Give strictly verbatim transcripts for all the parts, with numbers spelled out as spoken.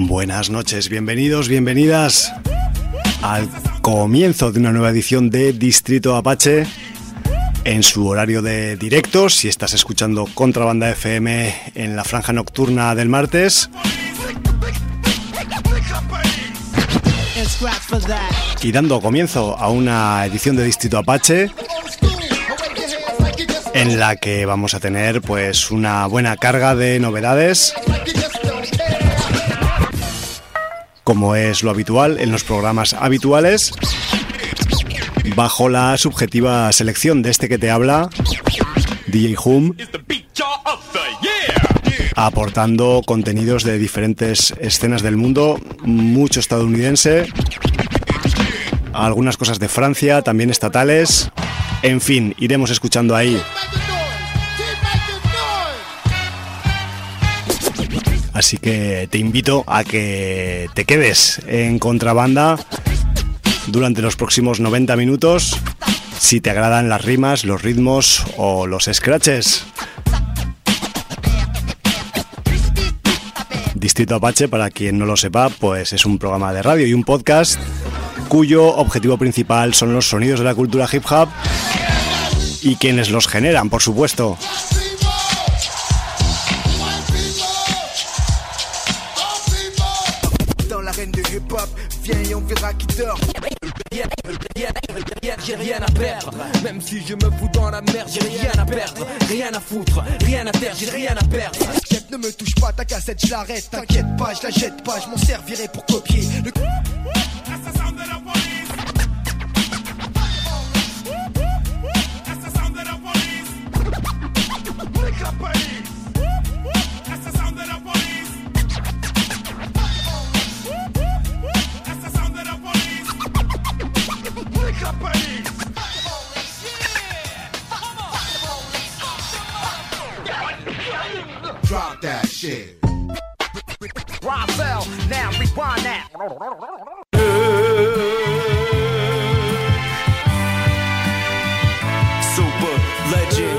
Buenas noches, bienvenidos, bienvenidas al comienzo de una nueva edición de Distrito Apache en su horario de directo, si estás escuchando Contrabanda F M en la franja nocturna del martes. Y dando comienzo a una edición de Distrito Apache en la que vamos a tener pues una buena carga de novedades, como es lo habitual en los programas habituales, bajo la subjetiva selección de este que te habla, D J Hum, aportando contenidos de diferentes escenas del mundo, mucho estadounidense, algunas cosas de Francia, también estatales, en fin, iremos escuchando ahí. Así que te invito a que te quedes en Contrabanda durante los próximos noventa minutos, si te agradan las rimas, los ritmos o los scratches. Distrito Apache, para quien no lo sepa, pues es un programa de radio y un podcast cuyo objetivo principal son los sonidos de la cultura hip hop y quienes los generan, por supuesto. Viens et on verra qui dort. J'ai rien à perdre. Même si je me fous dans la merde, j'ai rien à perdre. Rien à foutre, rien à taire, j'ai rien à perdre. Chef, ne me touche pas, ta cassette, je l'arrête. T'inquiète pas, je la jette pas, je m'en servirai pour copier. Le... Drop that shit. Ravel, now rewind that. Super legend.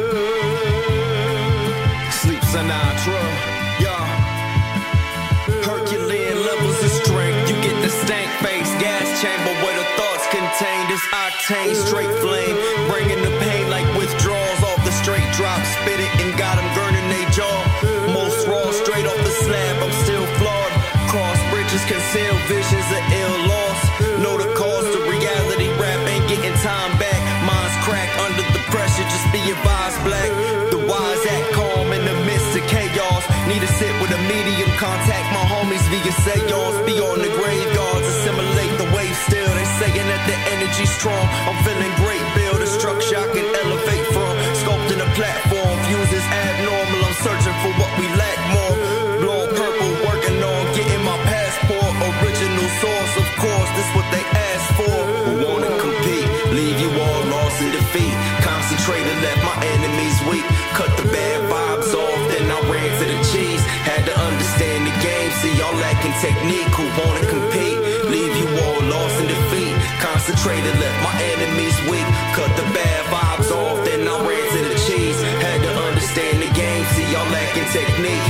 Sleep Sinatra. Yeah. Herculean levels of strength. You get the stank face gas chamber where the thoughts contain this octane straight flame. Bringing the pain like withdrawals off the straight drop. Spit it and got them burning they jaw. Most raw, straight off the slab, I'm still flawed. Cross bridges, conceal visions of ill loss. Know the cause, the reality rap ain't getting time back. Minds crack under the pressure, just be advised, black. The wise act calm in the midst of chaos. Need to sit with a medium, contact my homies via seance. Be on the graveyards, assimilate the wave still. They saying that the energy's strong. I'm feeling great, build a structure I can elevate from. Sculpting a platform, views is abnormal. I'm searching for what we lack more. Blowing purple, working on getting my passport. Original source, of course, this what they ask for. Who wanna compete, leave you all lost in defeat. Concentrated, left my enemies weak. Cut the bad vibes off, then I ran to the cheese. Had to understand the game, see y'all lacking technique. Who wanna compete, leave you all lost in defeat. Concentrated, left my enemies weak. Cut the bad vibes off, then I ran to the cheese. Had to understand the game, see y'all lacking technique.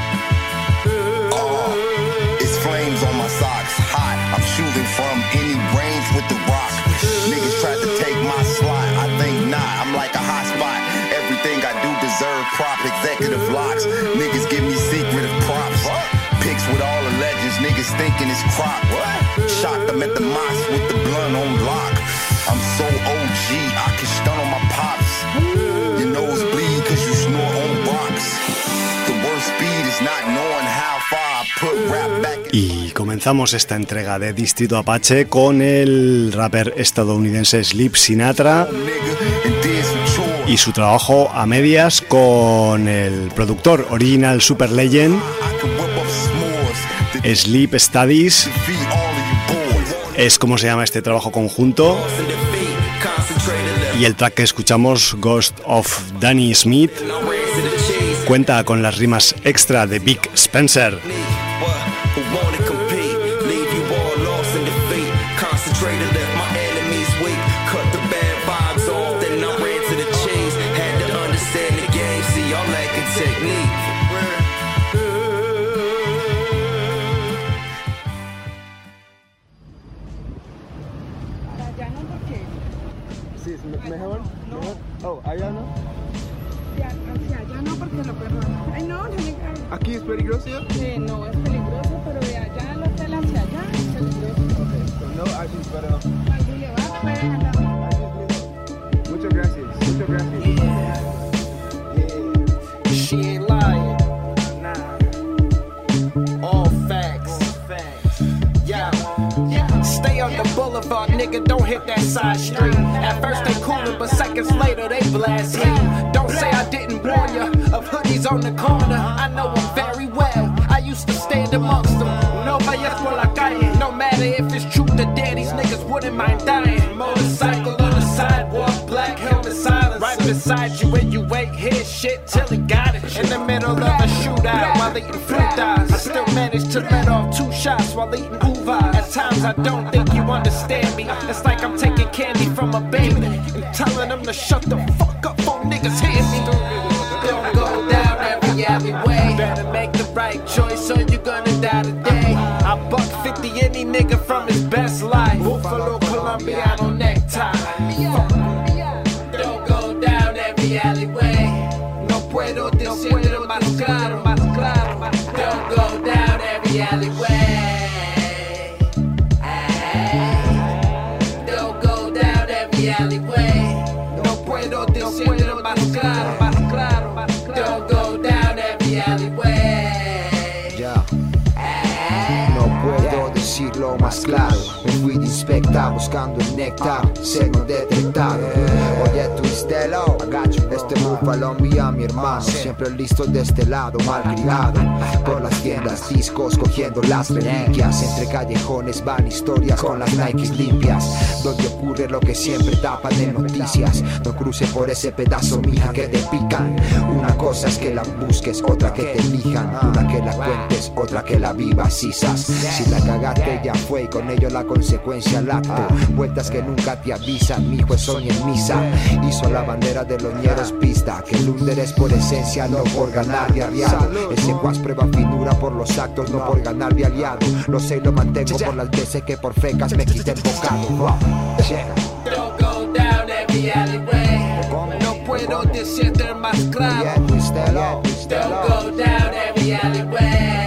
Oh, it's flames on my socks, hot. I'm shooting from any range with the rock. Niggas tried to take my slot, I think not. I'm like a hot spot. Everything I do deserve prop executive locks. Niggas give me secretive props. Pics with all the legends, niggas thinking it's crop. Shot them at the mosque with the blunt on lock. I'm so O G, I can stun on my pops. Your nose bleed cause you snore on rocks. The worst speed is not knowing how far I put rap back. Y comenzamos esta entrega de Distrito Apache con el rapper estadounidense Sleep Sinatra y su trabajo a medias con el productor Original Super Legend. Sleep Studies es como se llama este trabajo conjunto, y el track que escuchamos, Ghost of Danny Smith, cuenta con las rimas extra de Big Spencer. Peligrosíselo, perro. Ay, no, no me cae. ¿Aquí es peligroso? Eh, no, es peligroso, pero de allá al hotel hacia allá es peligroso. Ok, so no ayuda, pero... Al Boulevard puedes andar. Muchas gracias, muchas gracias. Yeah. Yeah. She ain't lying. Nah. All facts. All facts. Yeah. Yeah. Stay on the boulevard, nigga, don't hit that side street. At first they coolin', but seconds later they blast heat. Don't say I didn't warn ya of hoodies on the corner. I know them very well. I used to stand amongst them. No vayas por la calle. No matter if it's truth or dare, these niggas wouldn't mind dying. Motorcycle on the sidewalk, black helmet silence. Right beside you when you wait, hear shit till he got it. In the middle of a shootout while eating fruit thighs. I still managed to let off two shots while eating uvas. At times I don't think you understand me. It's like I'm taking candy from a baby and telling them to shut the fuck up before niggas hear me. Don't go down every alleyway. Better make the right choice or you're gonna die today. I buck fifty any nigga from his best life. Buffalo, Colombiano necktie. Don't go down every alleyway. No puedo decirlo más claro, más claro. Don't go down every alleyway. Don't go down every alleyway. No puedo decirlo más claro, más claro. Don't go down every alleyway. Yeah. No puedo decirlo más claro. Me fui de inspecta buscando el néctar, ser no detectado. Oye, Twistelo, este búfalo envía mi hermano, siempre listo de este lado, mal criado. Por las tiendas, discos, cogiendo las reliquias. Entre callejones van historias con las Nikes limpias, donde ocurre lo que siempre tapan de noticias. No cruce por ese pedazo, mija, que te pican. Una cosa es que la busques, otra que te elijan. Una que la cuentes, otra que la vivas, sisas. Si la cagaste ya fue y con ello la consecuencia al acto. Vueltas que nunca te avisan, mi hijo es hoy en misa. Hizo la bandera de los ñeros pista, que el under es por esencia, no por ganar de aliado. Ese guas prueba finura por los actos, no por ganar de aliado. Lo sé y lo mantengo por las veces que por fecas me quité el bocado. Don't go down every alleyway. No puedo decirte más claro. Don't go down every alleyway.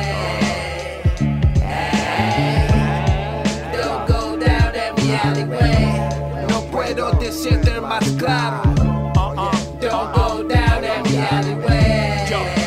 No puedo decirte más claro. Don't go down every alleyway.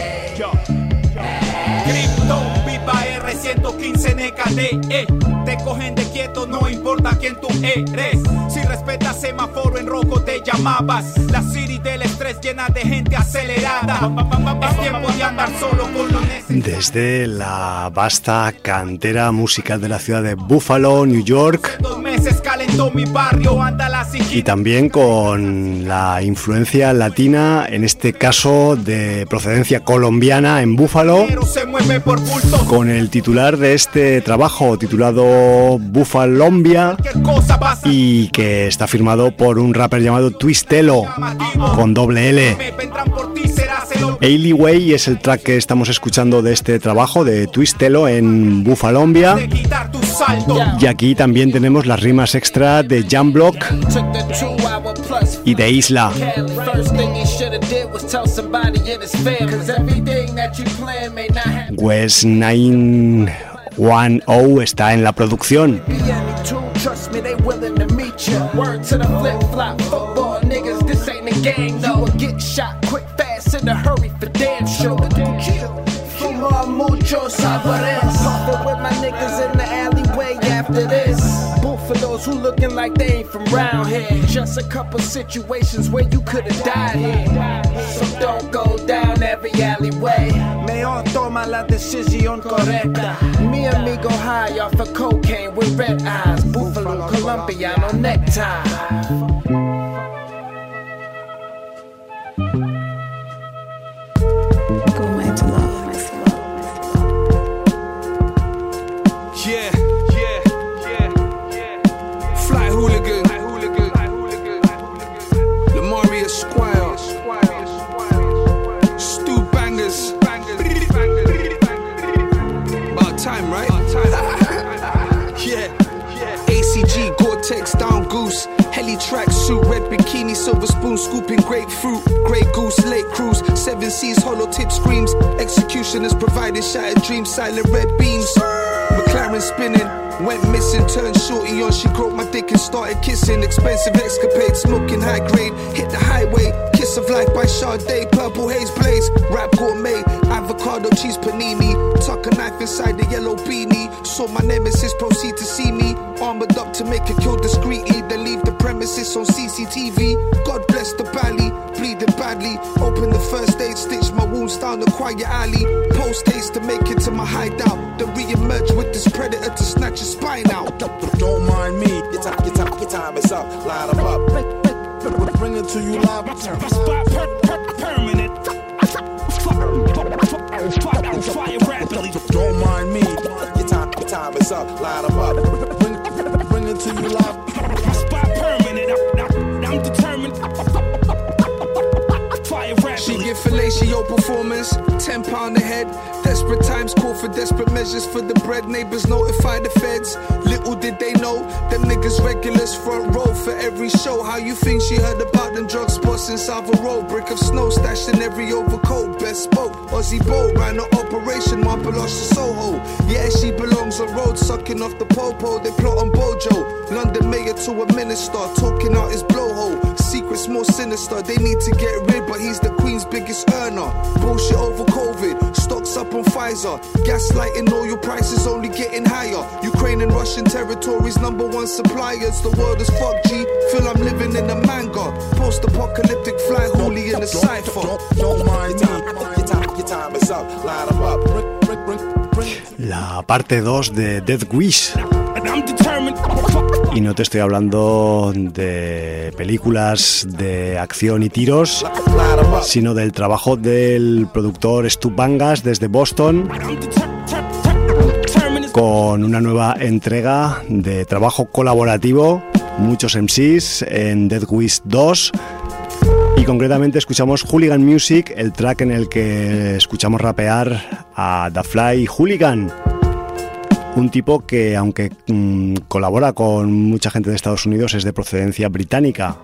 Crypto, viva R ciento quince N K D E. Te cogen de quieto, no importa quién tú eres. Si respetas semáforo en rojo te llamabas. La city del estrés llena de gente acelerada. Es tiempo de andar solo con lo necesario. Desde la vasta cantera musical de la ciudad de Buffalo, New York, Dos meses calentó mi barrio, anda la y también con la influencia latina, en este caso de procedencia colombiana en Buffalo, se mueve por bulto. con el titular de este trabajo titulado Buffalombia, y que está firmado por un rapper llamado Twistelo con doble L. Alleyway es el track que estamos escuchando de este trabajo de Twistelo en Buffalombia, y aquí también tenemos las rimas extra de Jamblock y de Isla. West nueve diez está en la producción. Trust me, they willing to meet you. Word to the flip-flop football niggas, this ain't a game, no. You will get shot quick, fast, in a hurry for damn sure. Fuma mucho sabores. Puffin' with my niggas in the alleyway after this. Buffaloes who looking like they ain't from round here. Just a couple situations where you could've died here. So don't go down every alleyway. Mejor toma la decisión correcta. Mi amigo high off of cocaine with red eyes. Buffalo, Colombiano necktie. Yeah, yeah, yeah, yeah. Fly hooligan, fly hooligan, fly hooligan, fly hooligan. Lamaria Squire, Stu Bangers, about time, right? Yeah, A C G, Gore-Tex, Down Goose, Heli track suit, red bikini, silver spoon, scooping grapefruit, grey goose, late cruise, seven seas, hollow tip screams. Executioners provided shattered dreams, silent red beams. McLaren spinning, went missing, turned shorty on. She groped my dick and started kissing. Expensive escapade, smoking high grade. Hit the highway, kiss of life by Sade. Purple haze blaze, rap gourmet. Avocado cheese panini. Tuck a knife inside the yellow beanie. Saw my nemesis proceed to see me. Armored up to make a kill discreetly. Then leave the premises on C C T V. God bless the valley, bleeding badly. Open the first aid, stitch my wounds down the quiet alley. Post haste to make it to my hideout. Then re-emerge with this predator to snatch your spine out. Don't mind me, your time, your time, your time is up. Line them up, bring it to you live. Spot per, per, permanent. Fire rapidly. Don't mind me, your time, your time is up. Line them up, bring, bring it to you live. Spot permanent. I'm, I'm determined. Fire rapidly. She give fellatio performance, ten pound a head. Desperate times call for desperate measures for the bread. Neighbors notify the feds. Little did they know, them niggas regulars front row for every show. How you think she heard about them drug spots in Savile Row? Brick of snow stashed in every overcoat. Best spoke, Aussie Bow ran an operation, Marble lost to Soho. Yeah, she belongs on road, sucking off the popo. They plot on Bojo, London mayor to a minister, talking out his blowhole. Secrets more sinister, they need to get rid, but he's the Queen's biggest earner. Bullshit over COVID, stocks up on Pfizer. Gaslighting, oil prices only getting higher. Ukraine and Russian territories, number one suppliers. The world is fucked, G. Feel I'm living in a manga. Post-apocalyptic fly holy in a cypher. Don't, don't mind me, your time, your time is up. Line them up, bring, bring, bring, bring. La parte dos de Death Wish. Y no te estoy hablando de películas de acción y tiros, sino del trabajo del productor Stu Bangas desde Boston, con una nueva entrega de trabajo colaborativo, muchos M Cs en Death Wish dos. Y concretamente escuchamos Hooligan Music, el track en el que escuchamos rapear a Da Fly Hooligan. Un tipo que, aunque mmm, colabora con mucha gente de Estados Unidos, es de procedencia británica.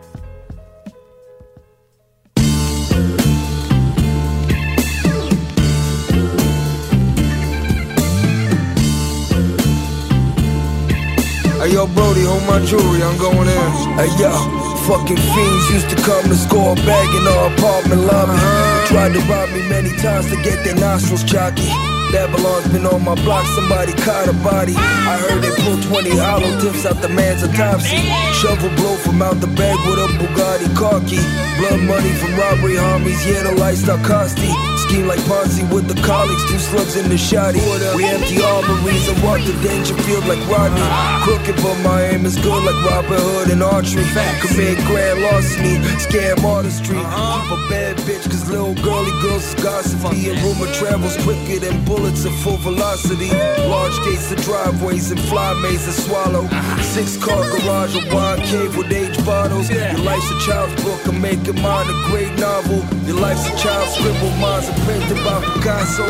Hey yo, Brody, hold my jewelry, I'm going in. Hey yo, fucking fiends used to come to score a bag in our apartment lobby. Tried to rob me many times to get their nostrils jockey. Babylon's been on my block, somebody caught a body. I heard they pulled twenty hollow tips out the man's autopsy. Shovel blow from out the bag with a Bugatti car key. Blood money from robbery homies, yeah, the lifestyle costly. Scheme like Ponzi with the colleagues, two slugs in the shoddy. We empty armories and walk the danger field like Rodney. Crooked but my aim is good like Robin Hood and archery. Commit grand larceny, scam artistry. Keep a bad bitch cause little girly girls is gossipy. And rumor travels quicker than bullets at full velocity. Large gates to driveways and fly maze to swallow. Six car garage, a wine cave with aged bottles. Your life's a child's book, I'm making mine a great novel. Your life's a child's scribble, mine's a print about Picasso.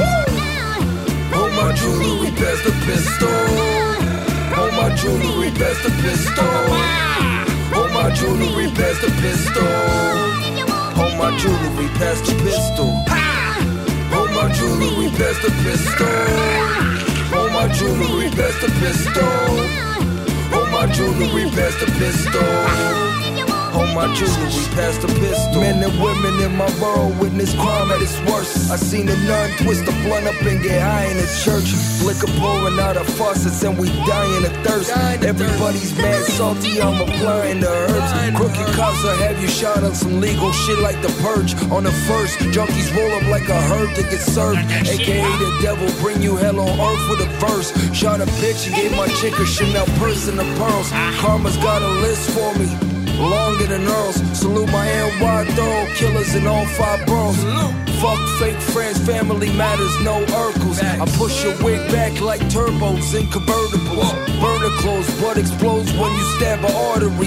Hold my jewelry, past the pistol. Hold my jewelry, past the pistol. Hold my jewelry, past the pistol. Hold my jewelry, past the pistol. Hold my jewelry, past the pistol. Hold my jewelry, past the pistol. Hold my jewelry, past the pistol. Hold my jewelry, past the pistol. Men and women in my borough witness crime at its worst. I seen a nun twist a blunt up and get high in a church. Liquor pouring out of faucets and we dying of thirst. Everybody's mad salty, I'm applying the herbs. Crooked cops will have you shot on some legal shit like the purge. On the first, junkies roll up like a herd to get served. A K A the devil bring you hell on earth with a verse. Shot a bitch and gave my chick a Chanel purse and the pearls. Karma's got a list for me, longer than Earl's. Salute my N Y thorough killers in all five boroughs. Fuck fake friends, family matters, no Urkels. I push your wig back like turbos in convertibles. Burner clothes, blood explodes when you stab an artery.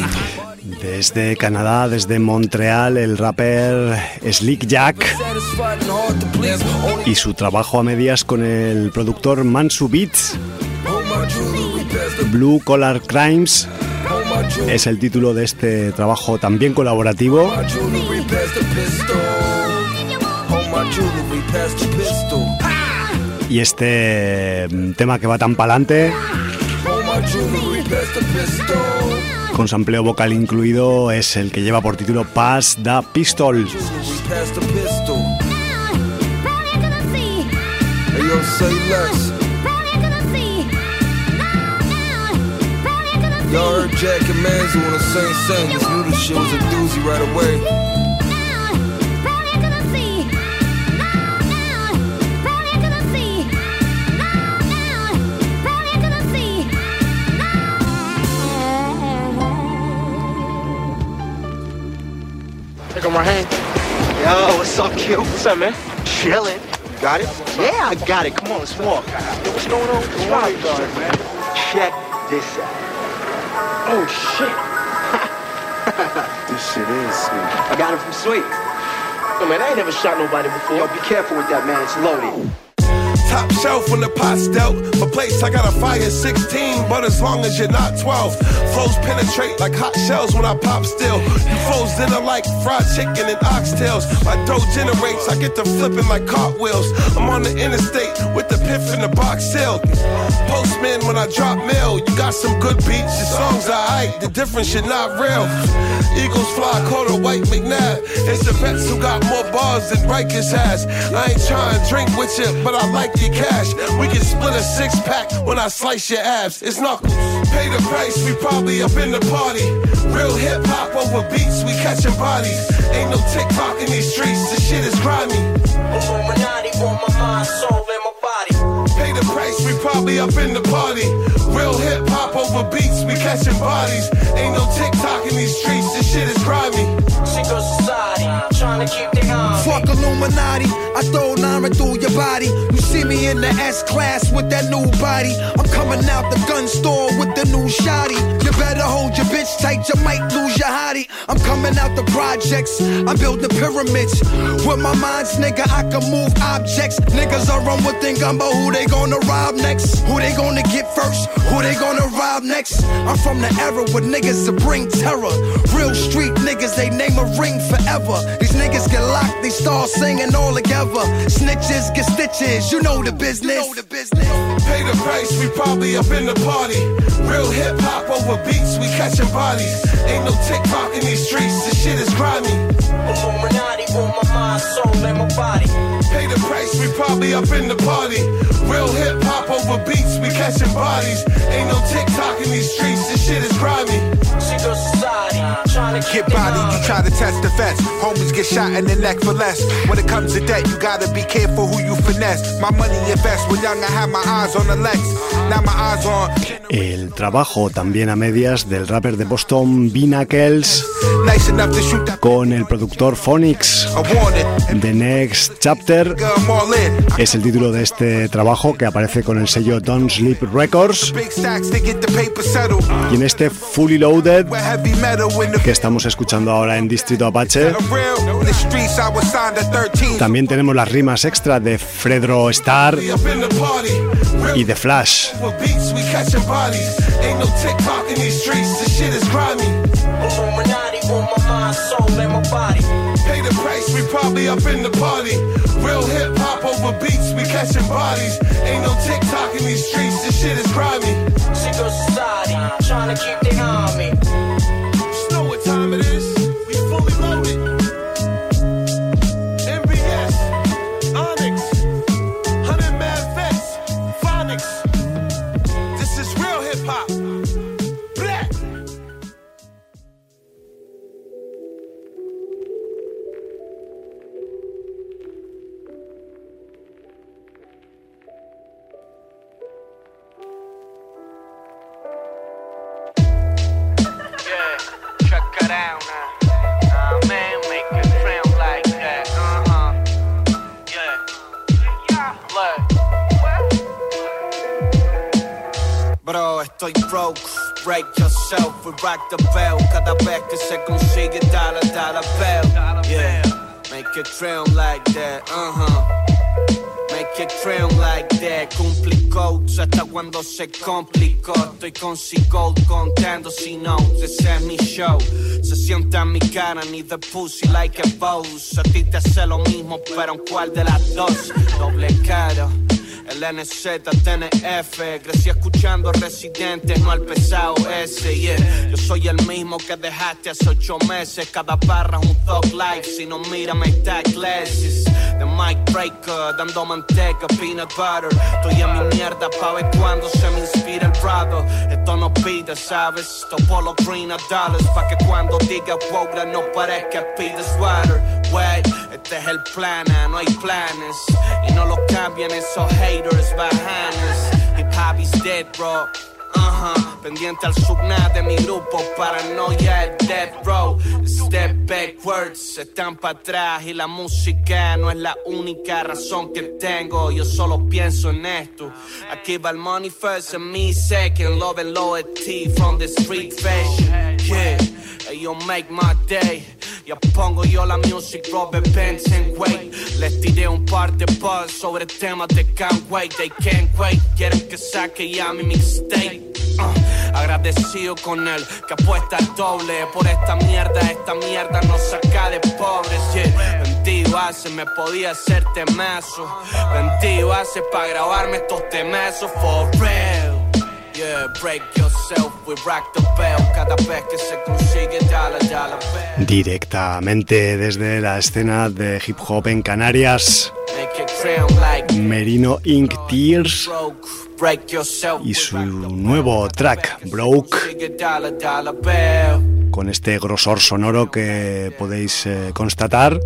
Desde Canadá, desde Montreal, el rapper Slick Jack y su trabajo a medias con el productor Mansu Beats. Blue Collar Crimes es el título de este trabajo también colaborativo. jewelry, pass the pistol. Y este tema que va tan pa'lante, All my jewelry, pass the pistol. con sampleo vocal incluido, es el que lleva por título Pass the Pistol. Jewelry, pass the pistol. Hey yo, say less. Y'all heard Jack and Manzo on the same sentence. Knew the shit was a doozy right away. Take on my hand. Yo, what's up, kid? What's up, man? Chillin'. Got it? Yeah, I got it. Come on, let's walk. Yo, what's going on? What's wrong with you, man? Check this out. Oh, shit. This shit is sweet. I got it from Sweet. Yo, man, I ain't never shot nobody before. Yo, be careful with that, man. It's loaded. Top shelf when the pot's dealt. For place, I got a fire sixteen, but as long as you're not twelve. Flows penetrate like hot shells when I pop still. You flows dinner like fried chicken and oxtails. My dough generates, I get to flipping like cartwheels. I'm on the interstate with the piff in the box seal. Postman when I drop mail. You got some good beats, your songs are aight. The difference, you're not real. Eagles fly, call a white McNabb. It's the vets who got more bars than Rikers has. I ain't trying to drink with you, but I like your cash. We can split a six pack when I slice your abs. It's knuckles. Pay the price, we probably up in the party. Real hip hop over beats, we catching bodies. Ain't no TikTok in these streets, this shit is grimy. Illuminati on my mind, soul, and my body. Pay the price, we probably up in the party. Real hip hop over beats, we catching bodies. Ain't no TikTok in these streets, this shit is grimy. Single society, trying to keep their arm. Fuck Illuminati, I throw Nara through your body. You see me in the S-Class with that new body. I'm coming out the gun store with the new shotty. You better hold your bitch tight, you might lose your hottie. I'm coming out the projects, I'm building pyramids. With my minds, nigga, I can move objects. Niggas are on one thing, I'm about who they gonna rob next. Who they gonna get first, who they gonna rob next. I'm from the era where niggas to bring terror. Real street niggas, they name a ring forever. These niggas get locked, they start singing all together. Snitches get stitches, you know the business. You know the business. Pay the price, we probably up in the party. Real hip hop over beats, we catching bodies. Ain't no TikTok in these streets, this shit is grimy. Illuminati on my mind, soul, and my body. Pay the price, we probably up in the party. Real hip hop over beats, we catching bodies. Ain't no TikTok in these streets, this shit is grimy. Single society, trying to get body, you try to test the vets. Homies get shot in the neck for less. When it comes to debt, you gotta be careful who you finesse. My money invest. When young I had my eyes on the Lex. Now my eyes on. El trabajo también a medias del rapper de Boston B-Knuckles con el productor Phonics. The Next Chapter es el título de este trabajo que aparece con el sello Don't Sleep Records. Y en este Fully Loaded que estamos escuchando ahora en Distrito Apache también tenemos las rimas extra de Fredro Starr y The Flash. Ain't no TikTok in these streets, this shit is grimy. Illuminati on my mind, soul, and my body. Pay the price, we probably up in the party. Real hip hop over beats, we catching bodies. Ain't no TikTok in these streets, this shit is grimy. Single society, trying to keep their army. Just know what time it is. We fully loaded. M B S, Onyx, Hundred Mad Vets, Phonics. This is real hip hop. Black. Yeah, check it out now. Uh, man, make it sound like that. Uh-huh. Yeah. Look. Bro, estoy broke. Break yourself and rock the bell. Cada vez que se consigue dollar, dollar bill. Yeah, make it trail like that. Uh-huh. Make Make it cream like that. Complicó hasta cuando se complicó. Estoy con C-Gold contando si no. Ese es mi show. Se sienta en mi cara ni de pussy like a boss. A ti te hace lo mismo, pero en cuál de las dos. Doble cara. El N Z T N F. Crecí escuchando Residentes, no al pesado ese, yeah. Yo soy el mismo que dejaste hace ocho meses. Cada barra es un thug life. Si no mira me está glasses. The mic breaker, dando manteca, peanut butter. Estoy en mi mierda pa' ver cuando se me inspira el brother. Esto no pide, ¿sabes? Topo los green a dollars pa' que cuando diga Wogra no parezca pide sweater. Wait, este es el plan, no hay planes. Y no lo cambian esos haters bajanes. Hip hop is dead, bro. Uh-huh. Pendiente al subnat de mi grupo, paranoia es death row. Step backwards, están para atrás y la música no es la única razón que tengo. Yo solo pienso en esto. Aquí va el money first and me second. Love and loyalty from the street fashion. Yeah, you make my day. Ya pongo yo la music, Robert Benson, wait. Les tiré un par de buzz sobre temas de can't wait, they can't wait. Quieren que saque ya mi mixtape. Uh, agradecido con él, que apuesta el doble. Por esta mierda, esta mierda nos saca de pobres, yeah. Vendido hace, me podía hacer temazo. Vendido hace pa' grabarme estos temazos for real. Yeah, break yourself, we rock the bell. Cada vez que se consigue, dale, dale, bell. Directamente desde la escena de hip hop en Canarias, Merino Incorporated. Tears y su nuevo track, Broke, con este grosor sonoro que podéis eh, constatar.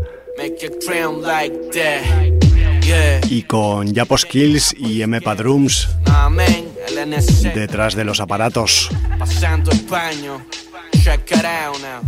Y con Japo Skills y M P A Drums detrás de los aparatos. Pasando el paño, check it out now.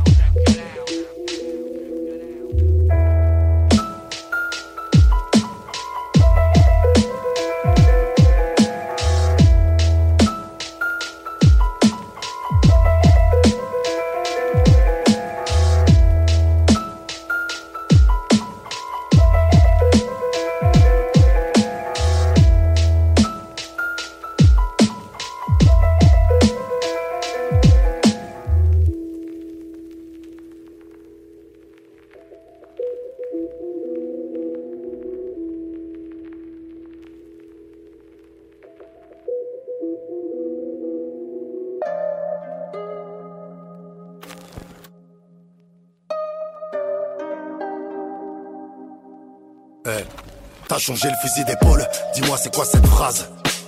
Hey, t'as changé le fusil d'épaule, dis-moi c'est quoi cette phrase?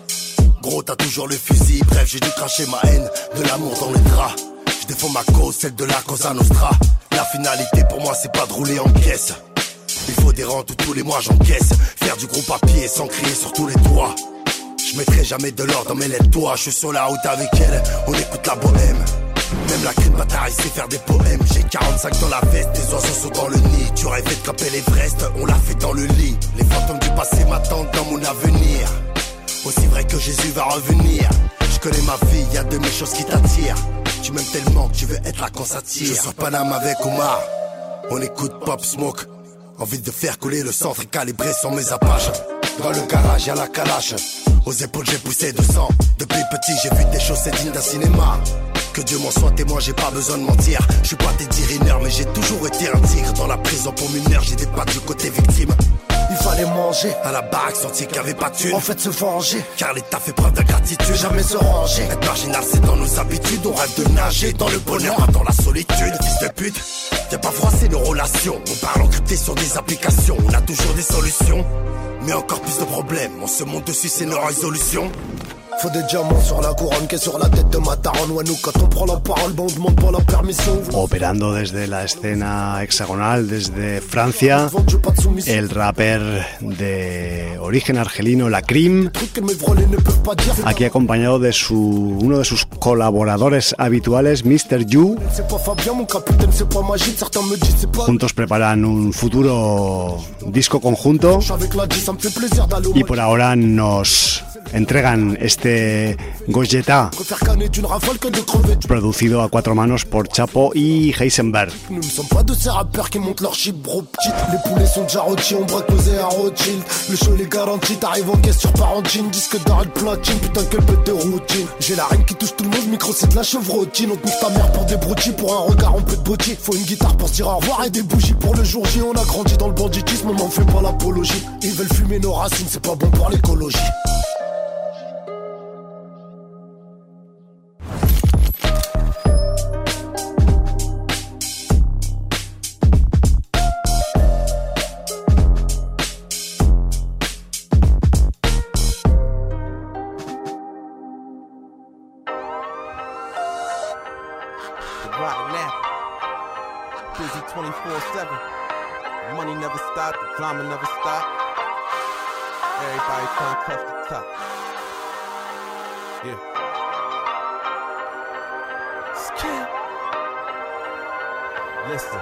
Gros t'as toujours le fusil, bref j'ai dû cracher ma haine, de l'amour dans les draps. Je défends ma cause, celle de la Cosa Nostra. La finalité pour moi c'est pas de rouler en caisse. Il faut des rentes où tous les mois j'encaisse. Faire du gros papier sans crier sur tous les toits. Je mettrai jamais de l'or dans mes lettres toi. Je suis sur la route avec elle, on écoute la bohème. Même la crime bataille sait faire des poèmes. J'ai quarante-cinq dans la veste, des oiseaux sont dans le nid. Tu rêvais de grimper l'Everest, on l'a fait dans le lit. Les fantômes du passé m'attendent dans mon avenir. Aussi vrai que Jésus va revenir. Je connais ma vie, y'a de mes choses qui t'attirent. Tu m'aimes tellement que tu veux être là quand ça tire. Je sur Paname avec Omar, on écoute Pop Smoke. Envie de faire couler le centre et calibrer sur mes apaches. Dans le garage y'a la calache. Aux épaules j'ai poussé de sang. Depuis petit j'ai vu des choses c'est dignes d'un cinéma. Que Dieu m'en soit témoin, j'ai pas besoin de mentir. Je suis pas Teddy Riner, mais j'ai toujours été un tigre. Dans la prison pour mineur, j'ai des pattes du côté victime. Il fallait manger, à la baraque sentier qu'il y avait pas de thune. En fait se venger, car l'État fait preuve d'ingratitude. Jamais se ranger, être marginal c'est dans nos habitudes. On rêve de nager dans le bonheur, pas dans la solitude. Fils de pute, viens pas froisser nos relations. On parle encrypté sur des applications, on a toujours des solutions. Mais encore plus de problèmes, on se monte dessus c'est nos résolutions. Faut des diamants sur la couronne que sur la tête de ma daronne. Ouais, nous quand on prend la parole, bon on demande pas la permission. Operando desde la escena hexagonal, desde Francia, el rapper de origen argelino, La Cream, aquí acompañado de su uno de sus colaboradores habituales, mister You. Juntos preparan un futuro disco conjunto y por ahora nos entregan este este Gojeta, producido a cuatro manos por Chapo y Heisenberg. Nous ne sommes pas de ces rappeurs qui montent leur chip bro petite. Les poulets sont déjà rôtis, on braque posé à Rothschild. Le show les garantit, t'arrives en caisse sur Parentine. Disque d'arrêt de platine, putain quelle bête de routine. J'ai la reine qui touche tout le monde, micro c'est de la chevrotine. On te nique ta mère pour des broutilles, pour un regard on peut te botter. Faut une guitare pour se dire au revoir et des bougies pour le jour J. On a grandi dans le banditisme, on n'en fait pas l'apologie. Ils veulent fumer nos racines, c'est pas bon pour l'écologie. twenty-four seven. Money never stop, the drama never stop. Everybody trying to touch the top. Yeah. Skip. Listen.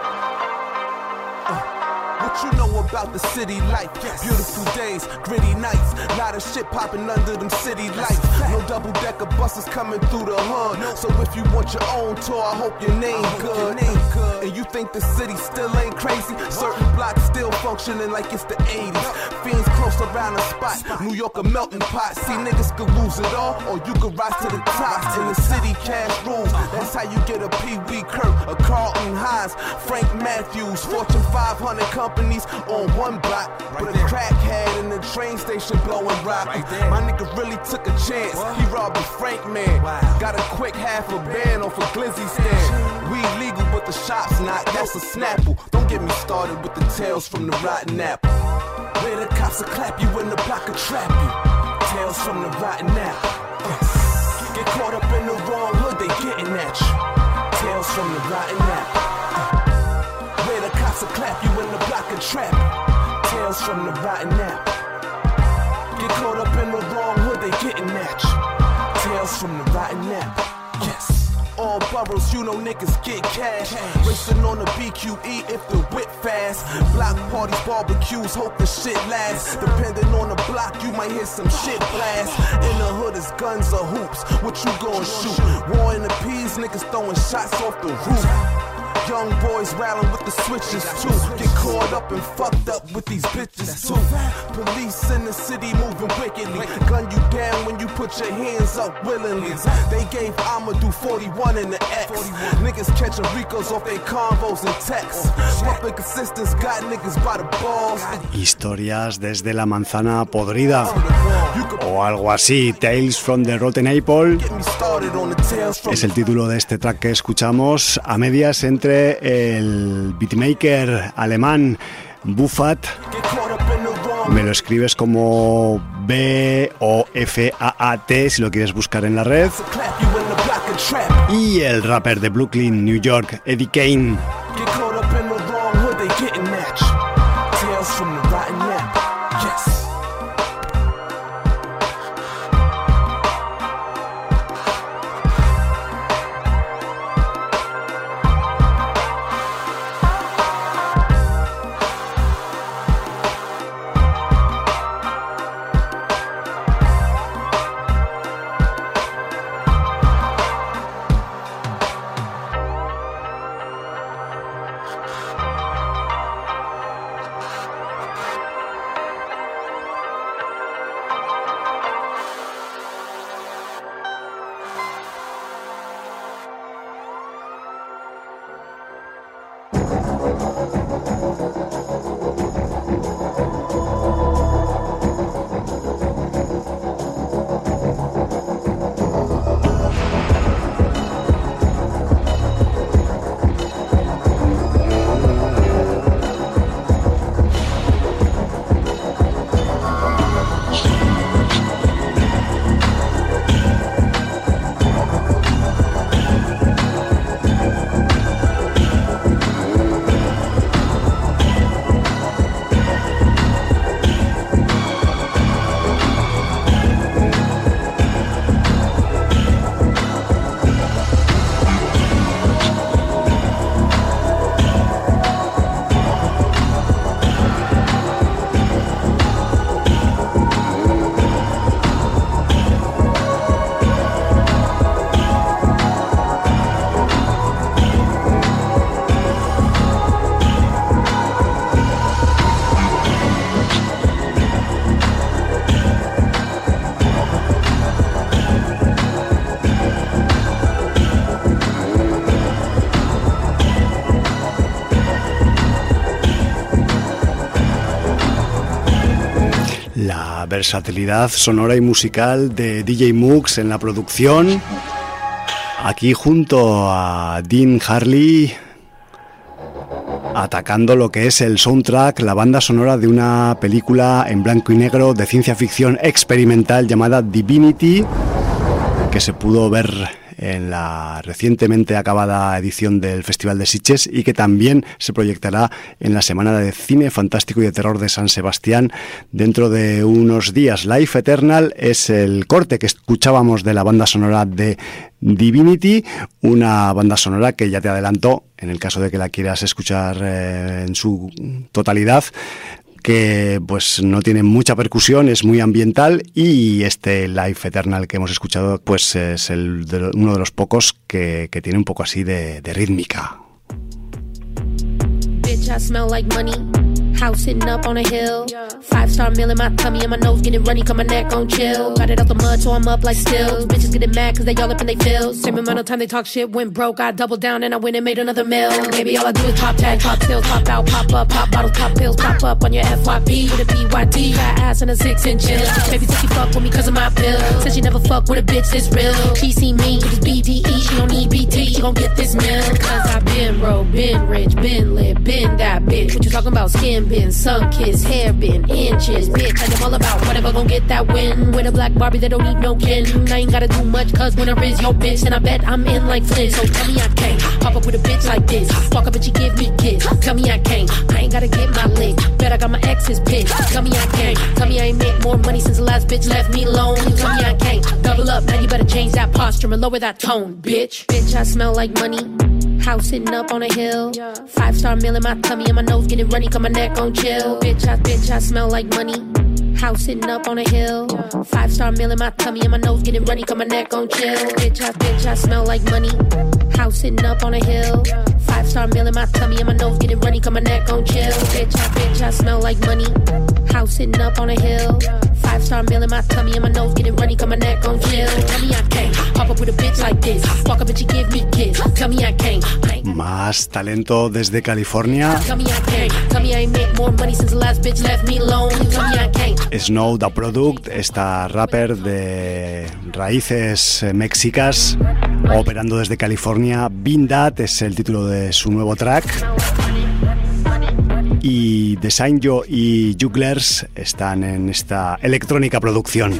Uh. What you know about the city life? Yes. Beautiful days, gritty nights, lot of shit popping under them city lights. No double decker buses coming through the hood. No. So if you want your own tour, I hope your name good. Your name good. And you think the city still ain't crazy? Certain blocks still functioning like it's the eighties. Fiends close around the spot, New York a melting pot. See niggas could lose it all, or you could rise to the top. In the city, cash rules. That's how you get a Pee Wee Kirk, a Carlton Hines, Frank Matthews, Fortune five hundred companies on one block, right with a crackhead in the train station blowing rock. Right My nigga really took a chance. What? He robbed a Frank man. Wow. Got a quick half a band off a glizzy stand. We legal, but the shop's not. That's a Snapple. Don't get me started with the tales from the rotten apple. Where the cops will clap you in the block will trap you. Tales from the rotten apple. Uh. Get caught up in the wrong hood, they getting at you. Tales from the rotten apple. Where the cops will clap you in the block and trap. Tales from the rotten apple. Get caught up in the wrong hood, they getting at you. Tales from the rotten apple. Yes. All boroughs, you know niggas get cash. Racing on the B Q E if the whip fast. Block parties, barbecues, hope the shit lasts. Depending on the block, you might hear some shit blast. In the hood is guns or hoops. What you gon' shoot? War in the peas, niggas throwing shots off the roof. Young boys rattling with the switches too. Get caught up and fucked up with these bitches too. Police in the city moving wickedly. Gun you down when you put your hands up willingly. They gave Amadou forty-one in the X. Niggas catching Ricos off their convos and texts. Public assistance got niggas by the balls. Historias desde la manzana podrida o algo así. Tales from the Rotten Apple es el título de este track que escuchamos, a medias entre el beatmaker alemán Buffat, me lo escribes como B O F A A T si lo quieres buscar en la red, y el rapper de Brooklyn, New York, Eddie Kane. La versatilidad sonora y musical de D J Mux en la producción, aquí junto a Dean Harley, atacando lo que es el soundtrack, la banda sonora de una película en blanco y negro de ciencia ficción experimental llamada Divinity, que se pudo ver en la recientemente acabada edición del Festival de Sitges y que también se proyectará en la Semana de Cine Fantástico y de Terror de San Sebastián dentro de unos días. Life Eternal es el corte que escuchábamos de la banda sonora de Divinity, una banda sonora que ya te adelanto, en el caso de que la quieras escuchar eh, en su totalidad, que pues no tiene mucha percusión, es muy ambiental, y este Life Eternal que hemos escuchado pues es el de, uno de los pocos que, que tiene un poco así de, de rítmica. Bitch, I smell like money. House sitting up on a hill. Five star meal in my tummy and my nose getting runny, cause my neck gon' chill. Got it out the mud, so I'm up like stills. Bitches getting mad cause they all up in they feels. Same amount of time they talk shit, went broke. I doubled down and I went and made another meal. Baby, all I do is top tag, top pills, pop out, pop up, pop bottles, pop pills, pop up on your F Y P with a P Y T. Fat ass and a six inch chill. Baby said she fuck with me cause of my pill. Said she never fuck with a bitch this real. She see me with this B D E, she don't need B T. She gon' get this meal. Cause I been broke, been rich, been lit, been that bitch. What you talking about? Skin been, sun kiss, hair been inches, bitch. I am all about whatever gon' get that win. With a black Barbie that don't need no kin. I ain't gotta do much cause winner is your bitch. And I bet I'm in like Flynn. So tell me I can't pop up with a bitch like this. Walk up and she give me kiss. Tell me I can't, I ain't gotta get my lick. Bet I got my exes pissed. Tell me I can't, tell me I ain't made more money since the last bitch left me alone. Tell me I can't, double up, now you better change that posture and lower that tone, bitch. Bitch, I smell like money. House sitting up on a hill. Five star meal in my tummy and my nose getting runny cause my neck gon' chill. Bitch, I, bitch, I smell like money. House sitting up on a hill. Five star meal in my tummy and my nose getting runny cause my neck gon' chill. Bitch, I, bitch, I smell like money. House sitting up on a hill. Five star meal in my tummy and my nose getting runny cause my neck gon' chill. Bitch, I, bitch, I smell like money. House sitting up on a hill. Five star meal in my tummy and my nose getting runny cause my neck gon' chill. Tell me I can't pop up with a bitch like this. Walk up and she give me kiss. Tell me I can't. Más talento desde California. Snow Da Product, esta rapper de raíces mexicas, operando desde California. Been That es el título de su nuevo track. Y Design Yo y Jugglers están en esta electrónica producción.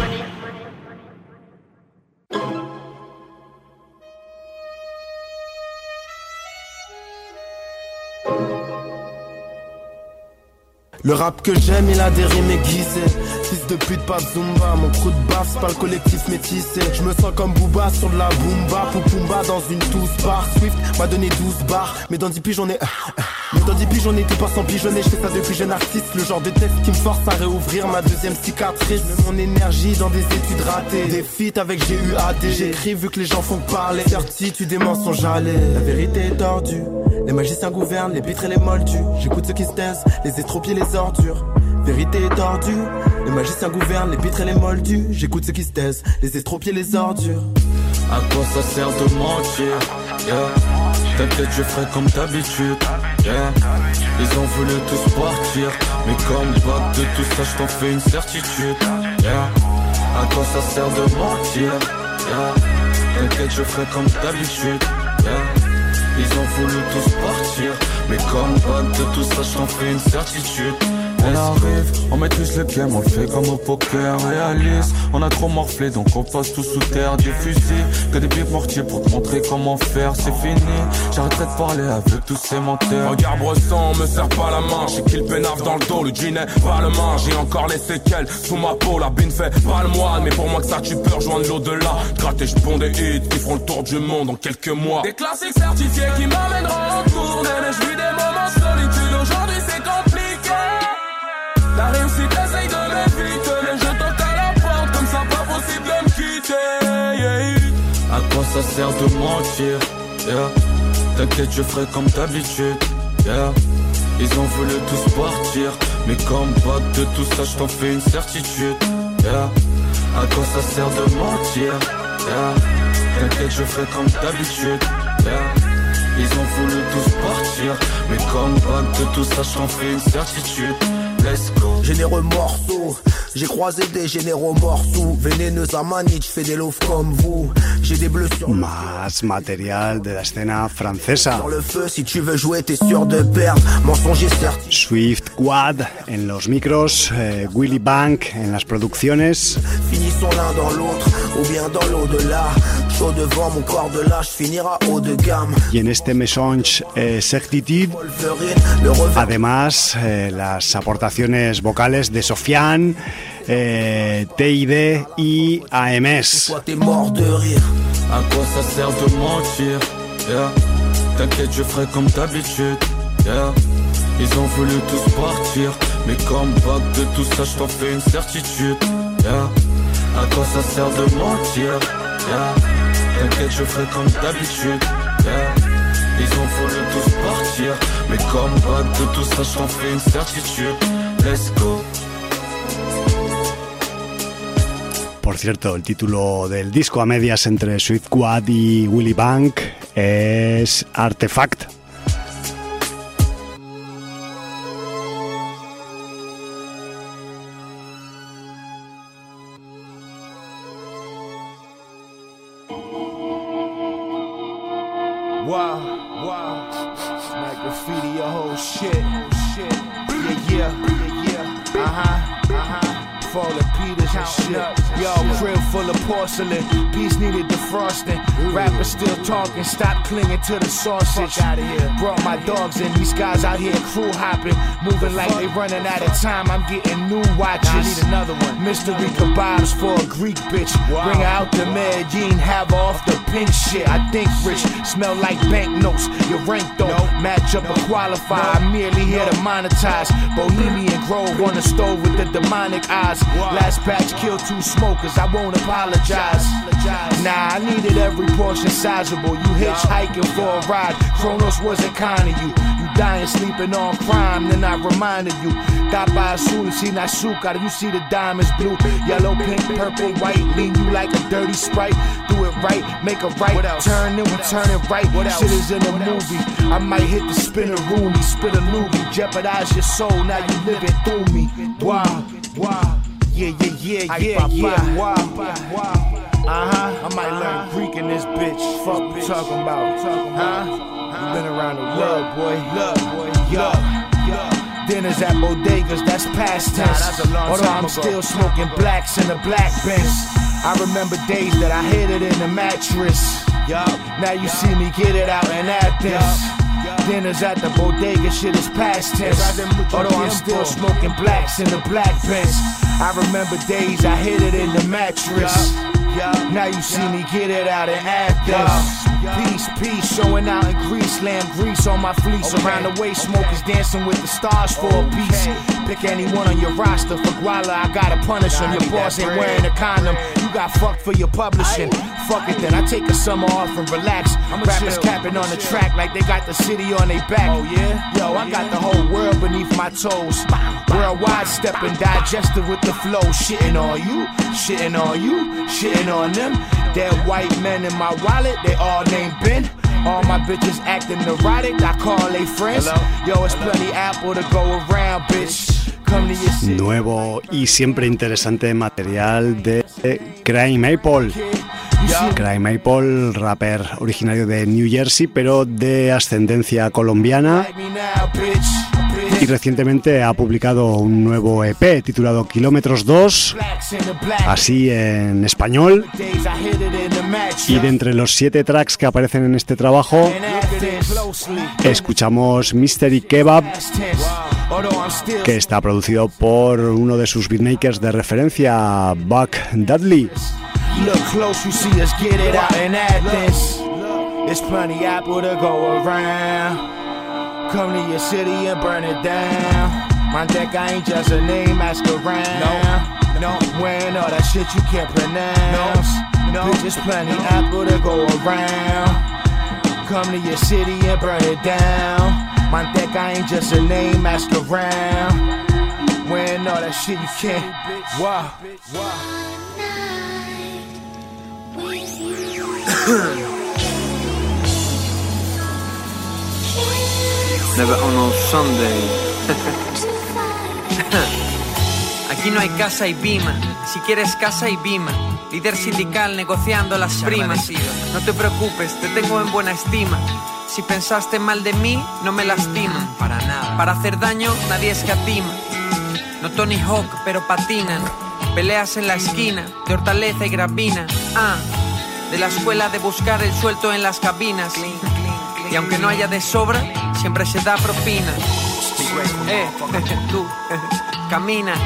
Le rap que j'aime, il a des rimes aiguisées. Fils de pute, pas de Zumba. Mon crew de baf, c'est pas le collectif métissé. Je me sens comme Booba sur de la Boomba. Poupoumba dans une douze bar. Swift m'a donné douze bars. Mais dans dix piges, j'en ai... Mais dans dix piges, j'en ai tout pas sans pigeonner. Je fais ça depuis jeune artiste. Le genre de texte qui me force à réouvrir ma deuxième cicatrice. Je mets mon énergie dans des études ratées. Des feats avec G U A D. J'écris vu que les gens font que parler. Certitude des mensonges allés. La vérité est tordue. Les magiciens gouvernent, les pitres et les moldus. J'écoute ceux qui se taisent, les estropiés, les ordures. Vérité est tordue. Les magiciens gouvernent, les pitres et les moldus. J'écoute ceux qui se taisent, les estropiés, les ordures. À quoi ça sert de mentir? Yeah. T'inquiète, je ferai comme d'habitude. Yeah. Ils ont voulu tous partir, mais comme pas de tout ça, je t'en fais une certitude. Yeah. À quoi ça sert de mentir? Yeah. T'inquiète, je ferai comme d'habitude. Yeah. Ils ont voulu tous partir, mais comme pas de tout ça, je t'en fais une certitude. On arrive, on maîtrise le game, on le fait comme au poker, réaliste. On a trop morflé, donc on passe tout sous terre. Des fusils, que des pieds mortiers pour te montrer comment faire. C'est fini, j'arrêterai de parler avec tous ces menteurs. Regarde Bresson, me serre pas la main. J'ai qu'il pénave dans le dos, le jean est pas le main. J'ai encore les séquelles sous ma peau, la bine fait pas le moine. Mais pour moi que ça tu peux rejoindre l'au-delà. Gratter, je ponds des hits qui feront le tour du monde en quelques mois. Des classiques certifiés qui m'amèneront en tournée. Je vis des moments de solitude, aujourd'hui c'est compliqué. La réussite essaye de m'éviter, mais je toque à la porte, comme ça pas possible de me quitter. Yeah. À quoi ça sert de mentir? Yeah. T'inquiète, je ferai comme d'habitude. Yeah. Ils ont voulu tous partir, mais comme pas de tout ça, je t'en fais une certitude. Yeah. À quoi ça sert de mentir? Yeah. T'inquiète, je ferai comme d'habitude. Yeah. Ils ont voulu tous partir, mais comme back de tout ça, j'en fais une certitude. Let's go. Généreux morceau, j'ai croisé des généraux morceaux. Vénéneuse à Manich, j'fais des loaves comme vous. J'ai des bleus sur Más material de la escena francesa. Sur le feu, si tu veux jouer, t'es sûr de perdre. Mensonger certes. Swift Quad en los micros, eh, Willy Bank en las producciones. Finissons l'un dans l'autre, ou bien dans l'au-delà. Chaud devant mon corps de lâche finira haut de gamme. Y en este Mesonge eh, Certitude, además eh, las aportaciones vocales de Sofiane, eh, T I D y A M S. À quoi ça sert de mentir? Yeah. T'inquiète, je ferai comme d'habitude. Yeah. Ils ont voulu tous partir, mais comme back de tout ça, je t'en fais une certitude. Yeah. À quoi ça sert de mentir? Yeah. T'inquiète, je ferai comme d'habitude. Yeah. Ils ont voulu tous partir, mais comme back de tout ça, je t'en fais une certitude. Let's go. Por cierto, el título del disco a medias entre Swift Quad y Willy Bank es Artefact. Wow, wow, like graffiti, your whole shit, shit, yeah, yeah, yeah, yeah, uh-huh, uh-huh. Falling Peters and shit. Yo, crib full of porcelain. Beats needed defrosting. Rappers still talking. Stop clinging to the sausage. Out of here. Brought my dogs in. These guys out here crew hopping, moving like they running out of time. I'm getting new watches. I need another one. Mystery kebabs for a Greek bitch. Wow. Bring her out to Medellin. Have her off the pink shit. I think rich. Smell like banknotes. Your rank though. Nope. Match up or qualify. Nope. I'm merely here to monetize. Bohemian Grove on the stove with the demonic eyes. Wow. Last batch killed two smokers, I won't apologize. Nah, I needed every portion sizable. You hitchhiking for a ride, Kronos wasn't kind of you. You dying sleeping on crime, then I reminded you. Tapa azul, sin azúcar, you see the diamonds blue. Yellow, pink, purple, white, lean you like a dirty Sprite. Do it right, make a right, turn then we turn it right. Shit is in a movie, I might hit the spinner rooney, spit a loogie, jeopardize your soul, now you living through me. Wow, wow. Yeah, yeah, yeah, yeah, yeah, wow, wow. Uh-huh, I might learn Greek in this bitch. Fuck you talking about, huh? You been around the world, boy. Love, boy, yo, yo. Dinners at bodegas, that's past tense. Although I'm still smoking blacks in the black bench. I remember days that I hid it in the mattress. Now you see me get it out in Athens. Dinners at the bodega, shit is past tense. Although I'm still smoking blacks in the black bench. I remember days I hid it in the mattress. Now you see me get it out in Athens. Peace, peace, showing out in Greece. Lamb grease on my fleece. Around the way, smokers dancing with the stars for a piece. Pick anyone on your roster. For Guala, I gotta punish him. Your boss ain't wearing a condom. You got fucked for your publishing. Fuck it then, I take a summer off and relax. Rappers capping on the track like they got the city on their back. Oh yeah? Yo, I got the whole world beneath my toes. Worldwide stepping, digested with the flow. Shitting on you, shitting on you, shitting on them. Dead white men in my wallet, they all named Ben. All my bitches acting neurotic, I call they friends. Yo, it's plenty apple to go around, bitch. Nuevo y siempre interesante material de Cry Maple. Cry Maple, rapper originario de New Jersey, pero de ascendencia colombiana. Y recientemente ha publicado un nuevo E P titulado Kilómetros dos, así en español. Y de entre los siete tracks que aparecen en este trabajo, escuchamos Mystery Kebab, que está producido por uno de sus beatmakers de referencia, Buck Dudley. Look close, you see us get it out in Athens. There's plenty apple to go around. Come to your city and burn it down. Manteca ain't just a name, ask around. No, no, when all that shit you can't pronounce. No, no, there's plenty apple to go around. Come to your city and burn it down. Manteca ain't just a name, ask around. When all that shit you can't. Wow, wow. Never on a Sunday. Aquí no hay casa y bima. Si quieres casa y bima. Líder sindical negociando las primas. No te preocupes, te tengo en buena estima. Si pensaste mal de mí, no me lastiman. Para nada. Para hacer daño, nadie escatima. No Tony Hawk, pero patinan. Peleas en la esquina, de hortaleza y gravina. Ah, de la escuela de buscar el suelto en las cabinas. Y aunque no haya de sobra, siempre se da propina. Eh, tú, camina.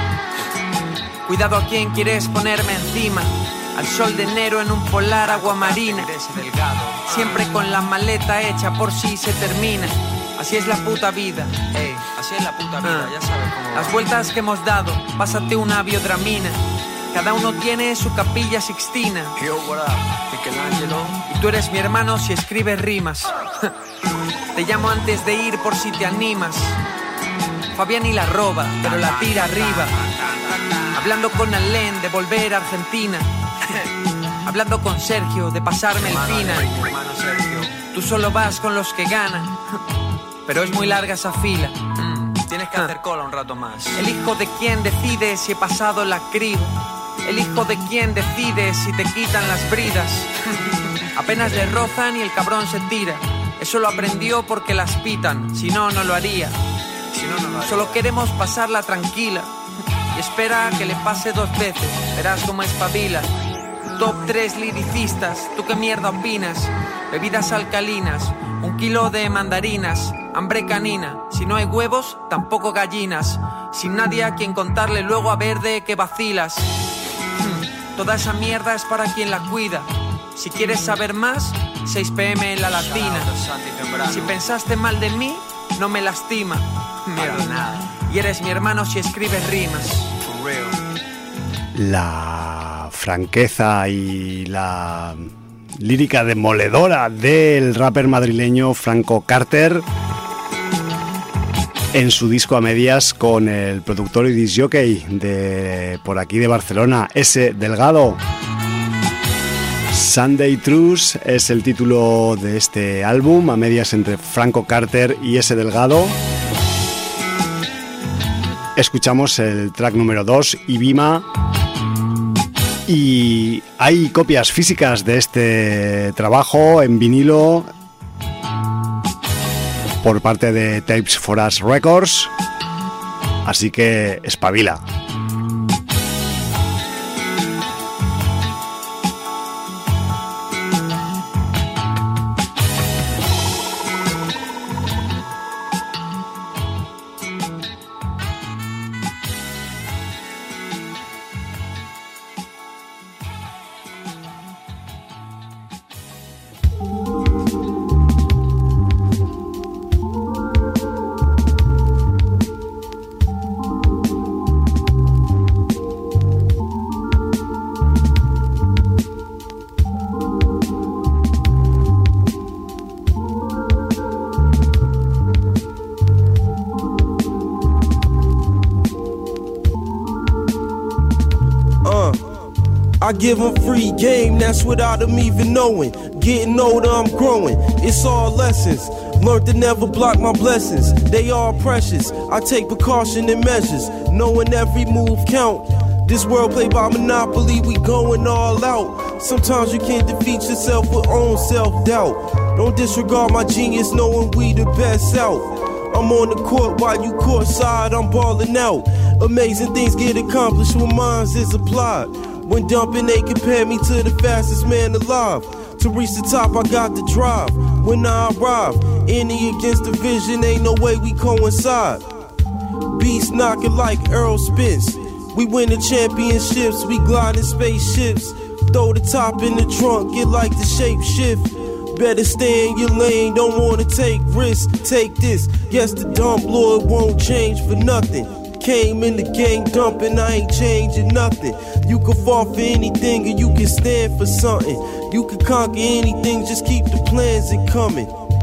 Cuidado a quien quieres ponerme encima. Al sol de enero en un polar agua marina. Siempre con la maleta hecha por si se termina. Así es la puta vida. Ey, así es la puta vida, ah. Ya sabes cómo va. Las vueltas que hemos dado, pásate una biodramina. Cada uno tiene su capilla sixtina. Yo, what up, Michelangelo. Y tú eres mi hermano si escribes rimas. Te llamo antes de ir por si te animas. Fabián y la roba, pero la tira arriba. Hablando con Alén de volver a Argentina. Hablando con Sergio de pasarme el final. Tú solo vas con los que ganan. Pero es muy larga esa fila. Mm, tienes que hacer cola un rato más. El hijo de quien decide si he pasado la criba. El hijo de quien decide si te quitan las bridas. Apenas le rozan y el cabrón se tira. Eso lo aprendió porque las pitan. Si no, no lo haría. Si no, no lo haría. Solo queremos pasarla tranquila. Y espera que le pase dos veces. Verás cómo espabila. Top tres liricistas. ¿Tú qué mierda opinas? Bebidas alcalinas. Un kilo de mandarinas. Hambre canina. Si no hay huevos, tampoco gallinas. Sin nadie a quien contarle luego a ver de qué vacilas. Hmm, toda esa mierda es para quien la cuida. Si quieres saber más, seis pe eme en la Latina. Si pensaste mal de mí, no me lastima. Mira, y eres mi hermano si escribes rimas. La franqueza y la lírica demoledora del rapper madrileño Franco Carter en su disco a medias con el productor y disc jockey de por aquí de Barcelona, S. Delgado. Sunday Truce es el título de este álbum, a medias entre Franco Carter y S. Delgado. Escuchamos el track número dos, Ibima. Y hay copias físicas de este trabajo en vinilo por parte de Tapes for Us Records. Así que espabila. I give them free game, that's without them even knowing. Getting older, I'm growing, it's all lessons. Learned to never block my blessings, they all precious. I take precaution and measures, knowing every move count. This world played by Monopoly, we going all out. Sometimes you can't defeat yourself with own self-doubt. Don't disregard my genius, knowing we the best out. I'm on the court while you courtside, I'm balling out. Amazing things get accomplished when minds is applied. When dumping, they compare me to the fastest man alive. To reach the top, I got the drive. When I arrive, any against the vision, ain't no way we coincide. Beats knocking like Earl Spence. We winning championships, we gliding spaceships. Throw the top in the trunk, get like the shape shift. Better stay in your lane, don't wanna take risks. Take this, yes the dump lord won't change for nothing. Came in the game dumping, I ain't changing nothing. You can fall for anything and you can stand for something. You can conquer anything, just keep the plans in coming.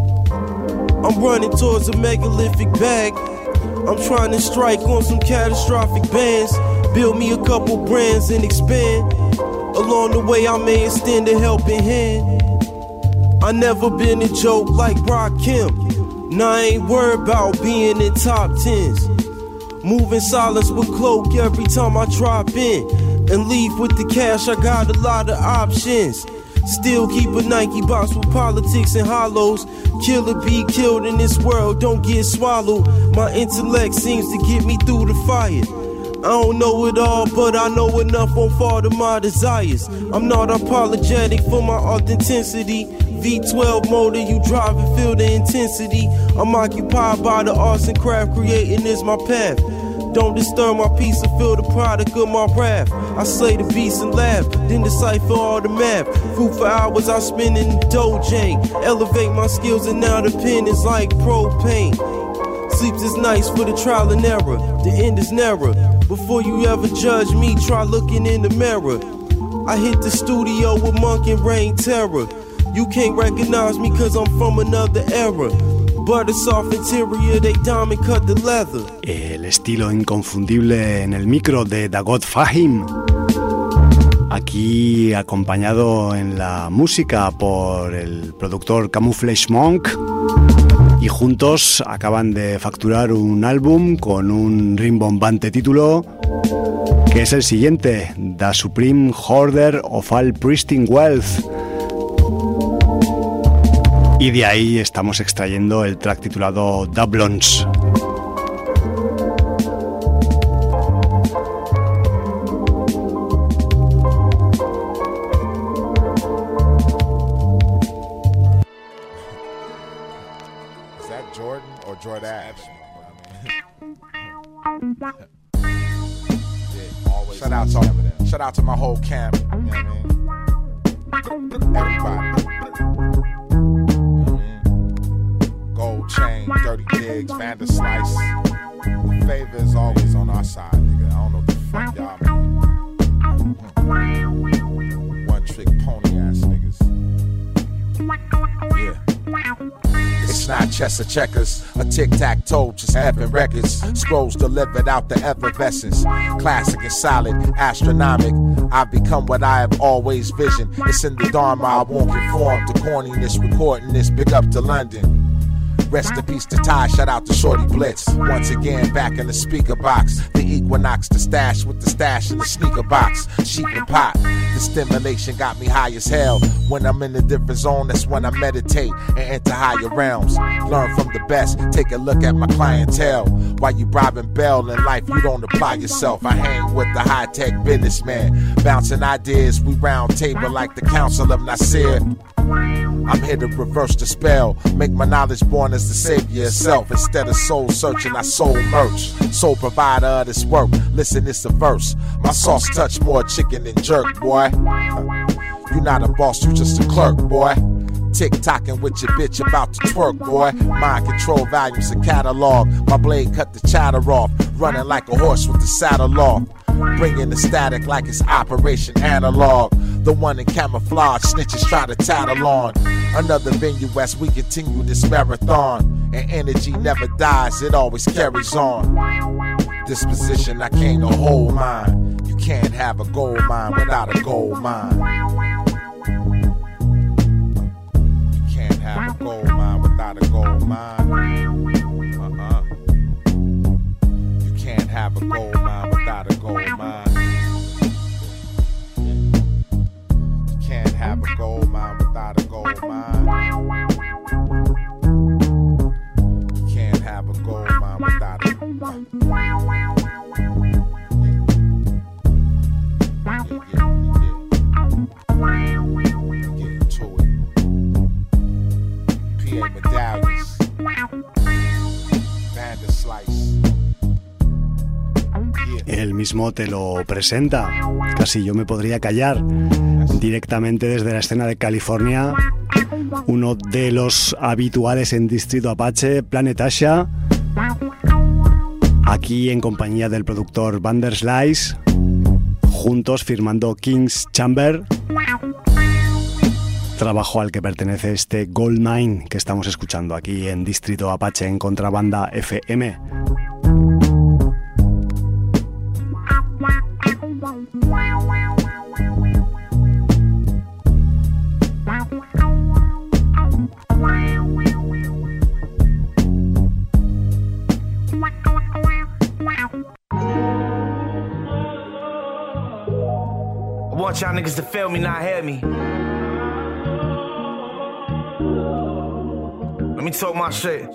I'm running towards a megalithic bag. I'm trying to strike on some catastrophic bands. Build me a couple brands and expand. Along the way I may extend a helping hand. I never been a joke like Rakim. Now I ain't worried about being in top tens. Moving silence with cloak every time I drop in. And leave with the cash, I got a lot of options. Still keep a Nike box with politics and hollows. Kill or be killed in this world, don't get swallowed. My intellect seems to get me through the fire. I don't know it all, but I know enough on far to my desires. I'm not apologetic for my authenticity. V twelve motor, you drive and feel the intensity. I'm occupied by the arts and craft, creating is my path. Don't disturb my peace or feel the product of my wrath. I slay the beast and laugh, then decipher all the math. Fruitful hours I spend in the dojo. Elevate my skills and now the pen is like propane. Sleeps is nice for the trial and error. The end is narrow. Before you ever judge me, try looking in the mirror. I hit the studio with Monk and Rain Terror. You can't recognize me cause I'm from another era. Butter soft interior, they diamond cut the leather. El estilo inconfundible en el micro de Dagot Fahim. Aquí acompañado en la música por el productor Camouflage Monk. Y juntos acaban de facturar un álbum con un rimbombante título que es el siguiente, The Supreme Hoarder of All Pristine Wealth. Y de ahí estamos extrayendo el track titulado Doublons. Shout out to shout out to my whole camp. You know what I mean? Everybody. Gold chain, dirty digs, Vander Slice. The favor is always on our side, nigga. I don't know what the fuck y'all mean. One trick pony ass niggas. Yeah. It's not chess or checkers, a tic-tac-toe, just effing records. Scrolls delivered out the effervescence. Classic and solid, astronomic. I've become what I have always visioned. It's in the Dharma, I won't conform to corniness, recording this, big up to London. Rest in peace to Ty, shout out to Shorty Blitz. Once again, back in the speaker box. The Equinox, the stash with the stash in the sneaker box. Sheep and pot, the stimulation got me high as hell. When I'm in a different zone, that's when I meditate and enter higher realms. Learn from the best, take a look at my clientele. While you bribing Bell in life, you don't apply yourself. I hang with the high-tech businessman. Bouncing ideas, we round table like the Council of Nasir. I'm here to reverse the spell, make my knowledge born as the savior itself. Instead of soul searching, I soul merch. Sole provider of this work, listen, it's a verse. My sauce touch more chicken than jerk, boy. You not a boss, you just a clerk, boy. Tick-tocking with your bitch about to twerk, boy. Mind control volumes and catalog. My blade cut the chatter off. Running like a horse with the saddle off. Bringing the static like it's Operation Analog. The one in camouflage, snitches try to tattle on. Another venue as we continue this marathon. And energy never dies, it always carries on. Disposition, I came to hold mine. You can't have a gold mine without a gold mine. Have a gold mine without a gold mine. Uh-uh. You can't have a gold mine without a gold mine. You can't have a gold mine without a gold mine. You can't have a gold mine without a gold mine. Medallions, Vander Slice. Él mismo te lo presenta. Casi yo me podría callar. Directamente desde la escena de California, uno de los habituales en Distrito Apache, Planet Asha, aquí en compañía del productor Vander Slice, juntos firmando King's Chamber, trabajo al que pertenece este Gold Mine que estamos escuchando aquí en Distrito Apache en Contrabanda F M. want y'all niggas to feel me, not hear me. Let me talk my shit.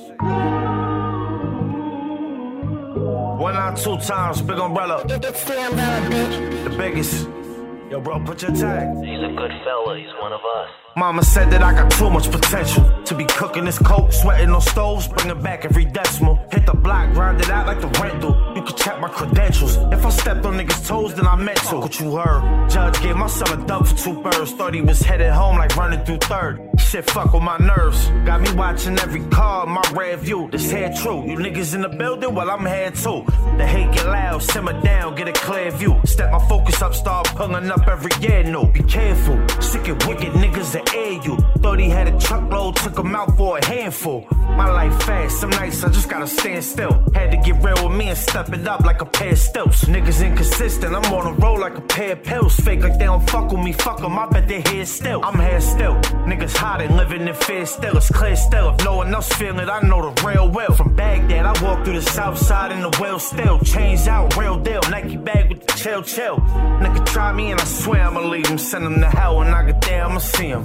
One out two times, big umbrella. It's the umbrella, bitch. The biggest. Yo, bro, put your tag. He's a good fella, he's one of us. Mama said that I got too much potential to be cooking this coke, sweating on stoves, bringing back every decimal. Hit the block, grind it out like the rental. You can check my credentials. If I stepped on niggas' toes, then I meant to. What you heard? Judge gave my son a dub for two birds. Thought he was headed home like running through third. Shit fuck with my nerves. Got me watching every car in my rear view. This head true. You niggas in the building, well I'm here too. The hate get loud, simmer down, get a clear view. Step my focus up, start pulling up every year. No, be careful. Sick and wicked niggas that air you. Thought he had a truckload, took him out for a handful. My life fast, some nights I just gotta stand still. Had to get real with me and step it up like a pair of stilts. Niggas inconsistent, I'm on a roll like a pair of pills. Fake like they don't fuck with me, fuck them, I bet they here still. I'm here still. Niggas hot and living in fear still. It's clear still, if no one else feeling it, I know the real well. From Baghdad, I walk through the south side in the well still. Chains out, real deal, Nike bag with the chill chill. Nigga try me and I swear I'ma leave him. Send him to hell when I get there, I'ma see him.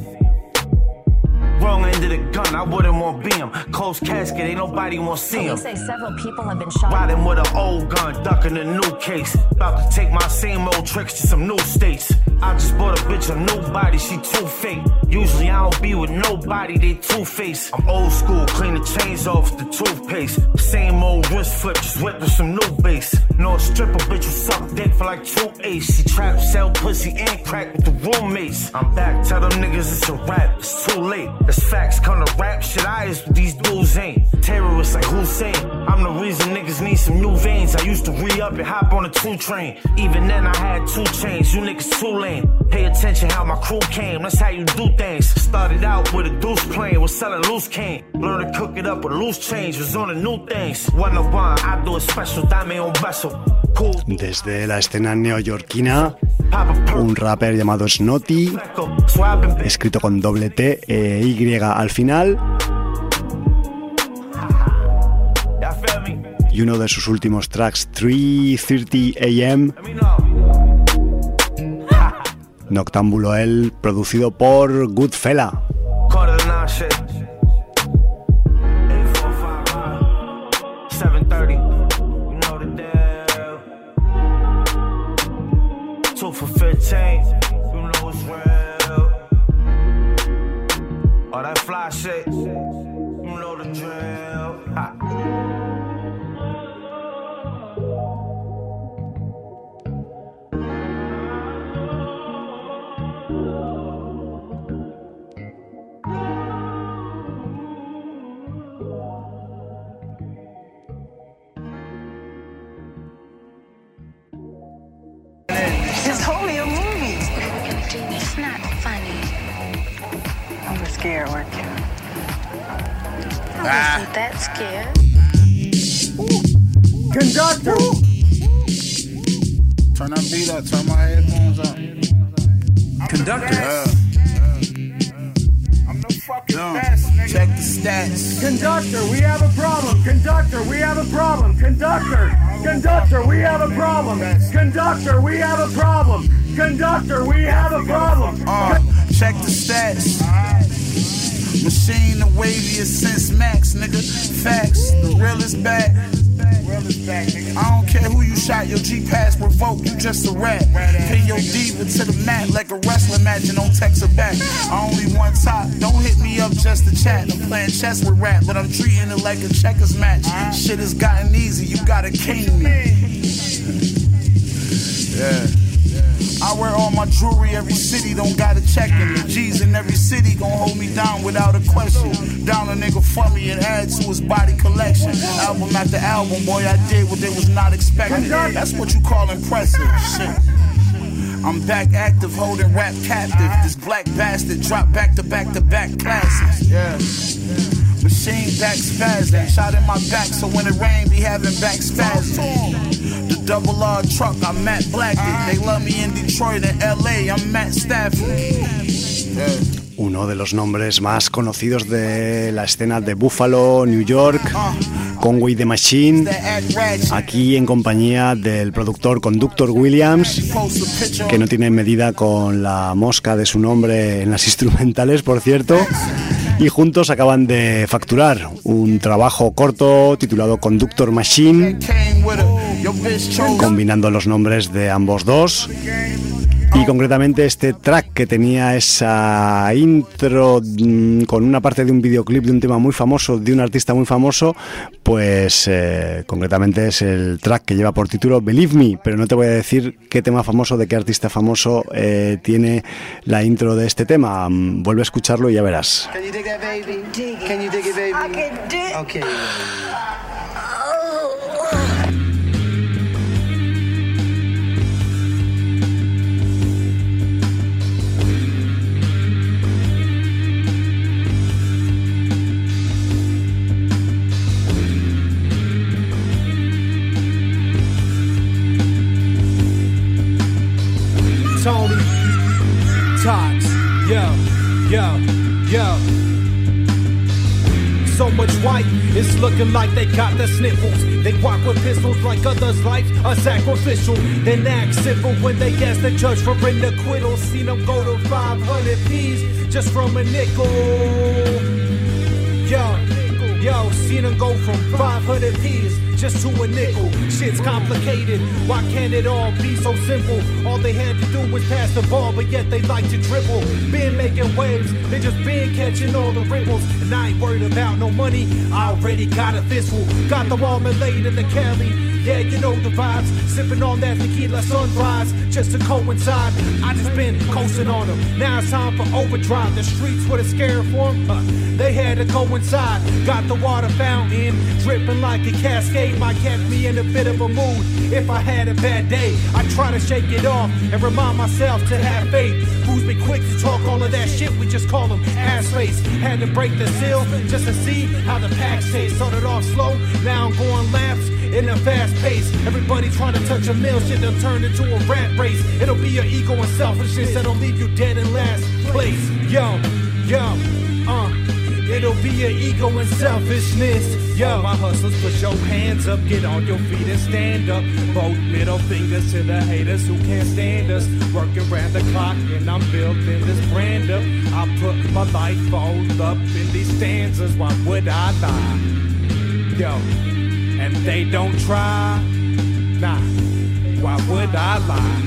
Wrong end of the gun, I wouldn't want to be him. Closed casket, ain't nobody want to see him. Police say several people have been shot. Riding with an old gun, ducking a new case. About to take my same old tricks to some new states. I just bought a bitch a new body, she too fake. Usually I don't be with nobody, they two-faced. I'm old school, clean the chains off with the toothpaste. Same old wrist flip, just whipped with some new bass. No stripper bitch who suck dick for like two ace. She trap, sell pussy and crack with the roommates. I'm back, tell them niggas it's a rap, it's too late. That's facts, come to rap shit, I is what these dudes ain't. Terrorists like Hussein, I'm the reason niggas need some new veins. I used to re-up and hop on a two train. Even then I had two chains, you niggas too lame. Pay attention how my crew came, that's how you do things. Started out with a deuce plane, was selling loose cane. Learned to cook it up with loose change, was on the new things. One of one, I do it special, dame un beso. Desde la escena neoyorquina, un rapper llamado Snotty, escrito con doble T e Y al final, y uno de sus últimos tracks, three thirty a m, Noctámbulo él, producido por Goodfella. For fifteen, you know it's real. All that fly shit, you know the drill. Ha. It's only a movie. It's not funny. I was scared, weren't you? I Ah. wasn't that scared. Conductor! Turn that beat up, turn my headphones up. Conductor. Yeah. I'm the fucking best, nigga. Check the stats. Conductor, we have a problem. Conductor, we have a problem. Conductor, conductor, we have a problem. Conductor, we have a problem. Conductor, we have a problem. Uh, check the stats. Machine the waviest since Max, nigga. Facts, the real is back. I don't care who you shot, your G-Pass revoked, you just a rat. Pin your diva to the mat like a wrestling match and don't text her back. I only one top, don't hit me up just to chat. I'm playing chess with rap, but I'm treating it like a checkers match. Shit has gotten easy, you gotta king me. Yeah. I wear all my jewelry, every city don't gotta check me. The G's in every city gon' hold me down without a question. Down a nigga for me and add to his body collection. Album after album, boy, I did what they was not expecting. That's what you call impressive. Shit. I'm back active, holding rap captive. This black bastard drop back to back to back classics. Yeah. Machine back spazzing, shot in my back, so when it rain, be having back spasms. The double R truck, I'm Matt Blackett. They love me in Detroit and L A, I'm Matt Stafford. Yeah. Uno de los nombres más conocidos de la escena de Buffalo, New York, Conway the Machine, aquí en compañía del productor Conductor Williams, que no tiene medida con la mosca de su nombre en las instrumentales, por cierto, y juntos acaban de facturar un trabajo corto titulado Conductor Machine, combinando los nombres de ambos dos. Y concretamente este track que tenía esa intro mmm, con una parte de un videoclip de un tema muy famoso, de un artista muy famoso, pues eh, concretamente es el track que lleva por título Believe Me, pero no te voy a decir qué tema famoso, de qué artista famoso eh, tiene la intro de este tema. Vuelve a escucharlo y ya verás. Can you dig that, baby? Can you dig it, baby? I can dig. Okay. Tony, Tox, yo, yo, yo. So much white, it's looking like they got the sniffles. They walk with pistols like others' lives are sacrificial. Then act civil when they ask the judge for an acquittal. Seen them go to five hundred P's just from a nickel. Yo, yo, seen them go from five hundred P's just to a nickel. Shit's complicated, why can't it all be so simple? All they had to do was pass the ball, but yet they like to dribble. Been making waves, they just been catching all the ripples. And I ain't worried about no money, I already got a fistful. Got the wall laid in the Cali, yeah, you know the vibes. Sipping on that tequila sunrise, just to coincide. I just been coasting on them, now it's time for overdrive. The streets were the scare for them, uh, they had to coincide. Got the water fountain, dripping like a cascade. Might catch me in a bit of a mood. If I had a bad day, I try to shake it off and remind myself to have faith. Who's been quick to talk all of that shit? We just call them ass face. Had to break the seal just to see how the packs taste. Started off slow, now I'm going laps in a fast pace. Everybody trying to touch a mill, shit done turned into a rat race. It'll be your ego and selfishness that'll leave you dead in last place. Yo, yo, uh. It'll be your ego and selfishness. Yo, my hustlers, put your hands up, get on your feet and stand up. Both middle fingers to the haters who can't stand us. Working around the clock and I'm building this brand up. I put my life all up in these stanzas, why would I lie? Yo, and they don't try, nah, why would I lie?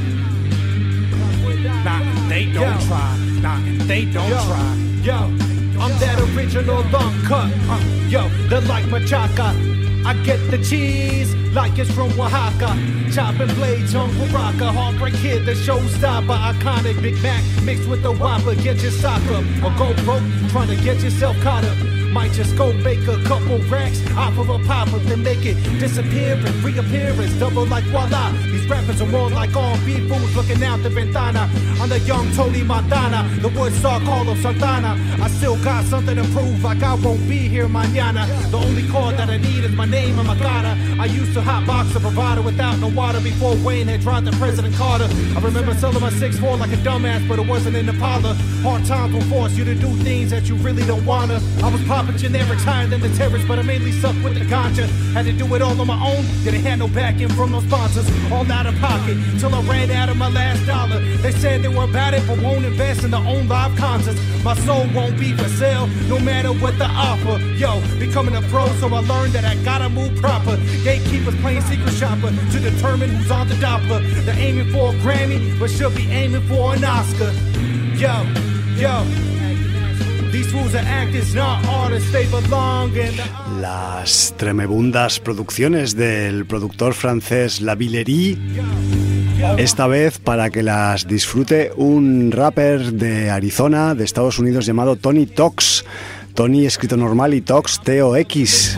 Nah, they don't try, nah, they don't try. Yo, I'm that original long cut, uh, yo, they're like machaca. I get the cheese like it's from Oaxaca. Chopping blades on Baraka. Heartbreak Kid, the showstopper. Iconic Big Mac mixed with the Whopper. Get your sock up or go broke trying to get yourself caught up. Might just go make a couple racks off of a pop-up, then make it disappear and reappearance. Double like voila. These rappers are more like all beat fools looking out the ventana. I'm the young Tony Montana, the Woodstock Hall of Santana. I still got something to prove, like I won't be here mañana. The only card that I need is my name and my cara. I used to hotbox a provider without no water before Wayne had dropped the President Carter. I remember selling my six four like a dumbass, but it wasn't in the parlor. Hard times will force you to do things that you really don't wanna. I was popping generics higher than the terrorists, but I mainly suck with the ganja. Had to do it all on my own, didn't have no backing from no sponsors. All out of pocket, till I ran out of my last dollar. They said they were about it, but won't invest in their own live concerts. My soul won't be for sale, no matter what the offer. Yo, becoming a pro, so I learned that I gotta move proper. Gatekeepers playing secret shopper to determine who's on the Doppler. They're aiming for a Grammy, but should be aiming for an Oscar. Yo, yo. These fools are actors, not artists, they belong in the... Las tremebundas producciones del productor francés La Villerie, esta vez para que las disfrute un rapper de Arizona, de Estados Unidos, llamado Tony Tox. Tony escrito normal y Tox T O X.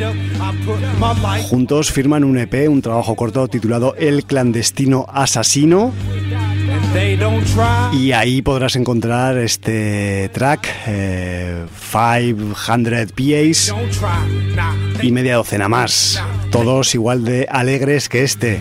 Juntos firman un E P, un trabajo corto titulado El Clandestino Asesino. Y ahí podrás encontrar este track, eh, quinientos P As y media docena más, todos igual de alegres que este.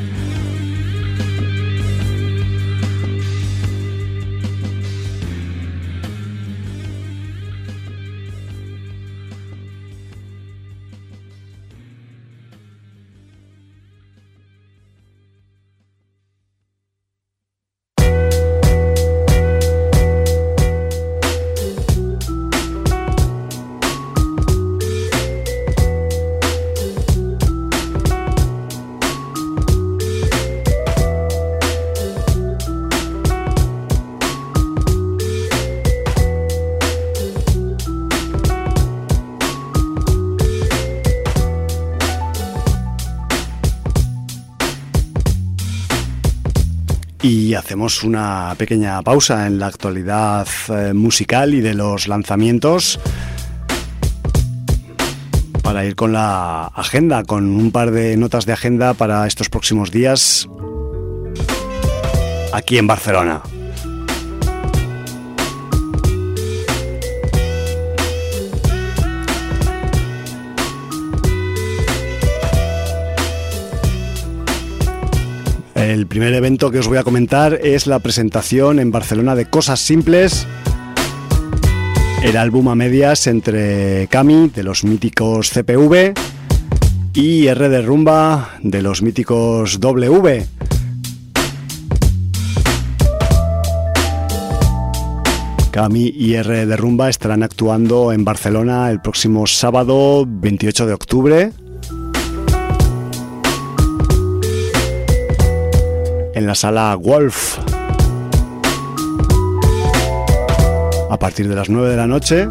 y hacemos una pequeña pausa en la actualidad eh, musical y de los lanzamientos para ir con la agenda, con un par de notas de agenda para estos próximos días aquí en Barcelona. El primer evento que os voy a comentar es la presentación en Barcelona de Cosas Simples, el álbum a medias entre Cami, de los míticos C P V, y R de Rumba, de los míticos W. Cami y R de Rumba estarán actuando en Barcelona el próximo sábado veintiocho de octubre en la sala Wolf a partir de las nueve de la noche.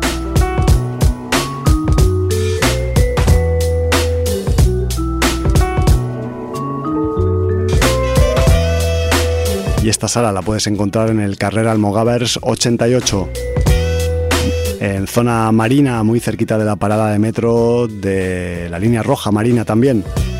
Y esta sala la puedes encontrar en el Carrer Almogàvers ochenta y ocho, en zona marina, muy cerquita de la parada de metro de la línea roja marina también.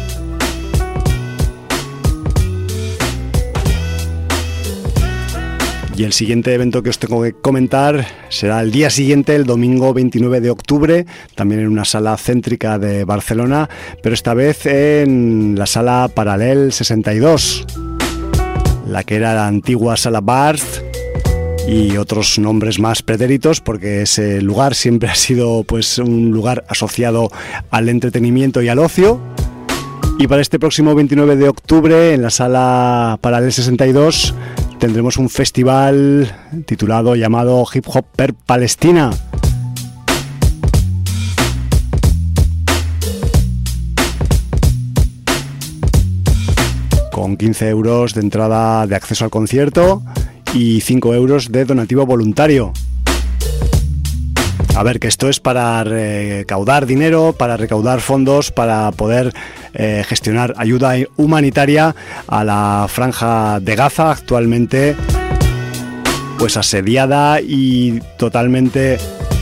Y el siguiente evento que os tengo que comentar será el día siguiente, el domingo veintinueve de octubre, también en una sala céntrica de Barcelona, pero esta vez en la sala Paral·lel sesenta y dos, la que era la antigua sala Barth y otros nombres más pretéritos, porque ese lugar siempre ha sido pues un lugar asociado al entretenimiento y al ocio. Y para este próximo veintinueve de octubre en la sala Paral·lel sesenta y dos tendremos un festival titulado, llamado Hip Hop per Palestina. Con quince euros de entrada de acceso al concierto y cinco euros de donativo voluntario. A ver, que esto es para recaudar dinero, para recaudar fondos, para poder eh, gestionar ayuda humanitaria a la franja de Gaza, actualmente pues asediada y totalmente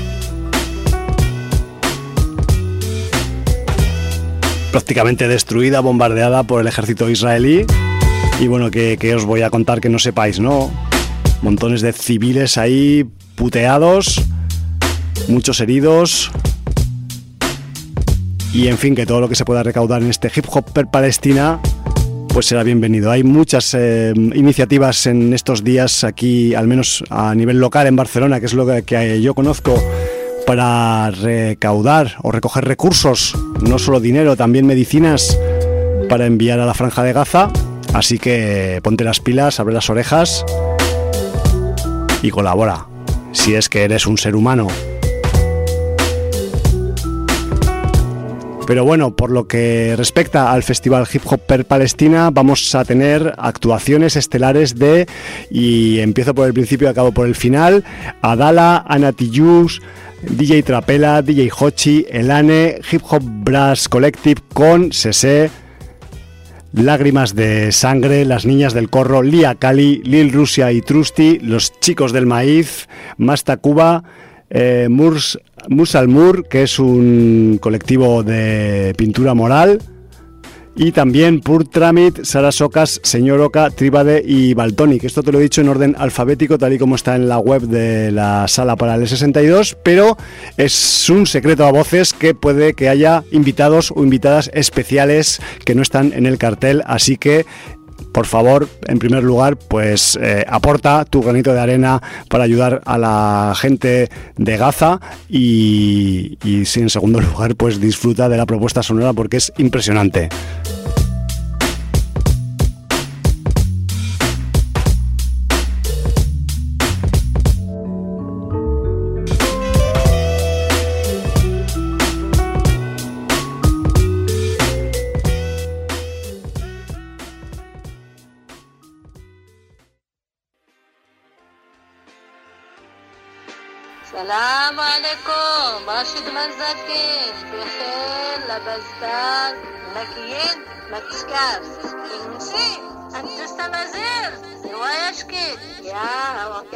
prácticamente destruida, bombardeada por el ejército israelí. Y bueno, que, que os voy a contar que no sepáis, ¿no? Montones de civiles ahí puteados, muchos heridos, y en fin, que todo lo que se pueda recaudar en este Hip Hop per Palestina pues será bienvenido. Hay muchas eh, iniciativas en estos días aquí, al menos a nivel local en Barcelona, que es lo que, que yo conozco, para recaudar o recoger recursos, no solo dinero, también medicinas para enviar a la franja de Gaza. Así que ponte las pilas, abre las orejas y colabora, si es que eres un ser humano. Pero bueno, por lo que respecta al Festival Hip Hop per Palestina, vamos a tener actuaciones estelares de, y empiezo por el principio y acabo por el final, Adala, Anatillus, D J Trapela, D J Hochi, Elane, Hip Hop Brass Collective con Sese, Lágrimas de Sangre, Las Niñas del Corro, Lia Cali, Lil Rusia y Trusty, Los Chicos del Maíz, Masta Cuba, eh, Murs, Musalmur, que es un colectivo de pintura moral, y también Purtramit, Sara Socas, Señor Oca, Tríbade y Baltonic. Esto te lo he dicho en orden alfabético, tal y como está en la web de la sala Paral·lel sesenta y dos, pero es un secreto a voces que puede que haya invitados o invitadas especiales que no están en el cartel, así que por favor, en primer lugar, pues eh, aporta tu granito de arena para ayudar a la gente de Gaza y, y sí, en segundo lugar, pues disfruta de la propuesta sonora porque es impresionante. سلام عليكم راشد منزكين بخير لاباس دار مكيين ما تشكرش كنمشي انت تستمازير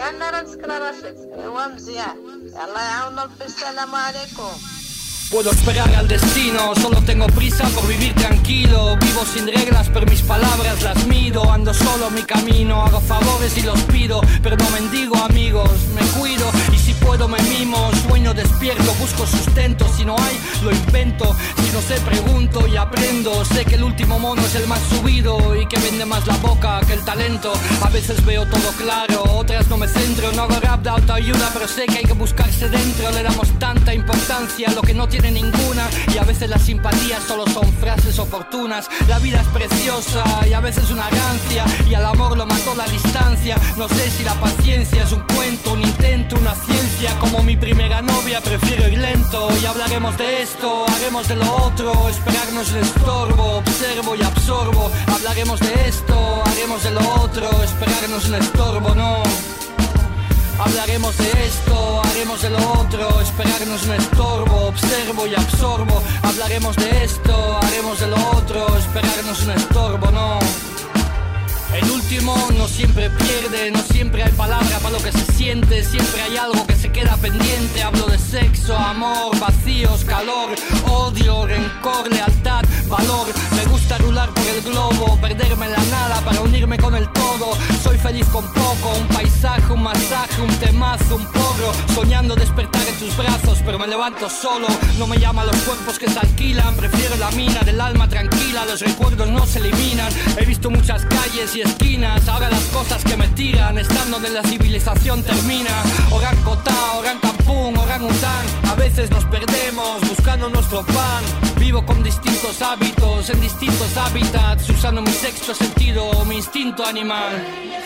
كأننا راه نسكر رشيد هو مزيان الله يعاوننا السلام عليكم. Puedo esperar al destino, solo tengo prisa por vivir tranquilo. Vivo sin reglas, pero mis palabras las mido. Ando solo mi camino, hago favores y los pido. Pero no mendigo amigos, me cuido y si puedo me mimo. Sueño despierto, busco sustento, si no hay, lo invento. Si no sé, pregunto y aprendo. Sé que el último mono es el más subido y que vende más la boca que el talento. A veces veo todo claro, otras no me centro. No hago rap de autoayuda, pero sé que hay que buscarse dentro. Le damos tanta importancia a lo que no tiene tiene ninguna y a veces las simpatías solo son frases oportunas. La vida es preciosa y a veces una rancia y al amor lo mató la distancia. No sé si la paciencia es un cuento, un intento, una ciencia. Como mi primera novia prefiero ir lento y hablaremos de esto, haremos de lo otro. Esperarnos el estorbo, observo y absorbo. Hablaremos de esto, haremos de lo otro. Esperarnos el estorbo, no. Hablaremos de esto, haremos de lo otro. Esperarnos un estorbo, observo y absorbo. Hablaremos de esto, haremos de lo otro. Esperarnos un estorbo, no. El último no siempre pierde, no siempre hay palabra para lo que se siente. Siempre hay algo que se queda pendiente. Hablo de sexo, amor, vacíos, calor, odio, rencor, lealtad, valor. Me gusta rular por el globo, perderme en la nada para unirme con el todo. Soy feliz con poco, un paisaje, un masaje, un temazo, un porro. Soñando despertar en tus brazos, pero me levanto solo. No me llaman los cuerpos que se alquilan, prefiero la mina del alma tranquila. Los recuerdos no se eliminan. He visto muchas calles y esquinas, ahora las cosas que me tiran, estando donde la civilización termina. Orán Kotá, Orán Kampung, Orán Után. A veces nos perdemos buscando nuestro pan. Vivo con distintos hábitos, en distintos hábitats, usando mi sexto sentido, mi instinto animal.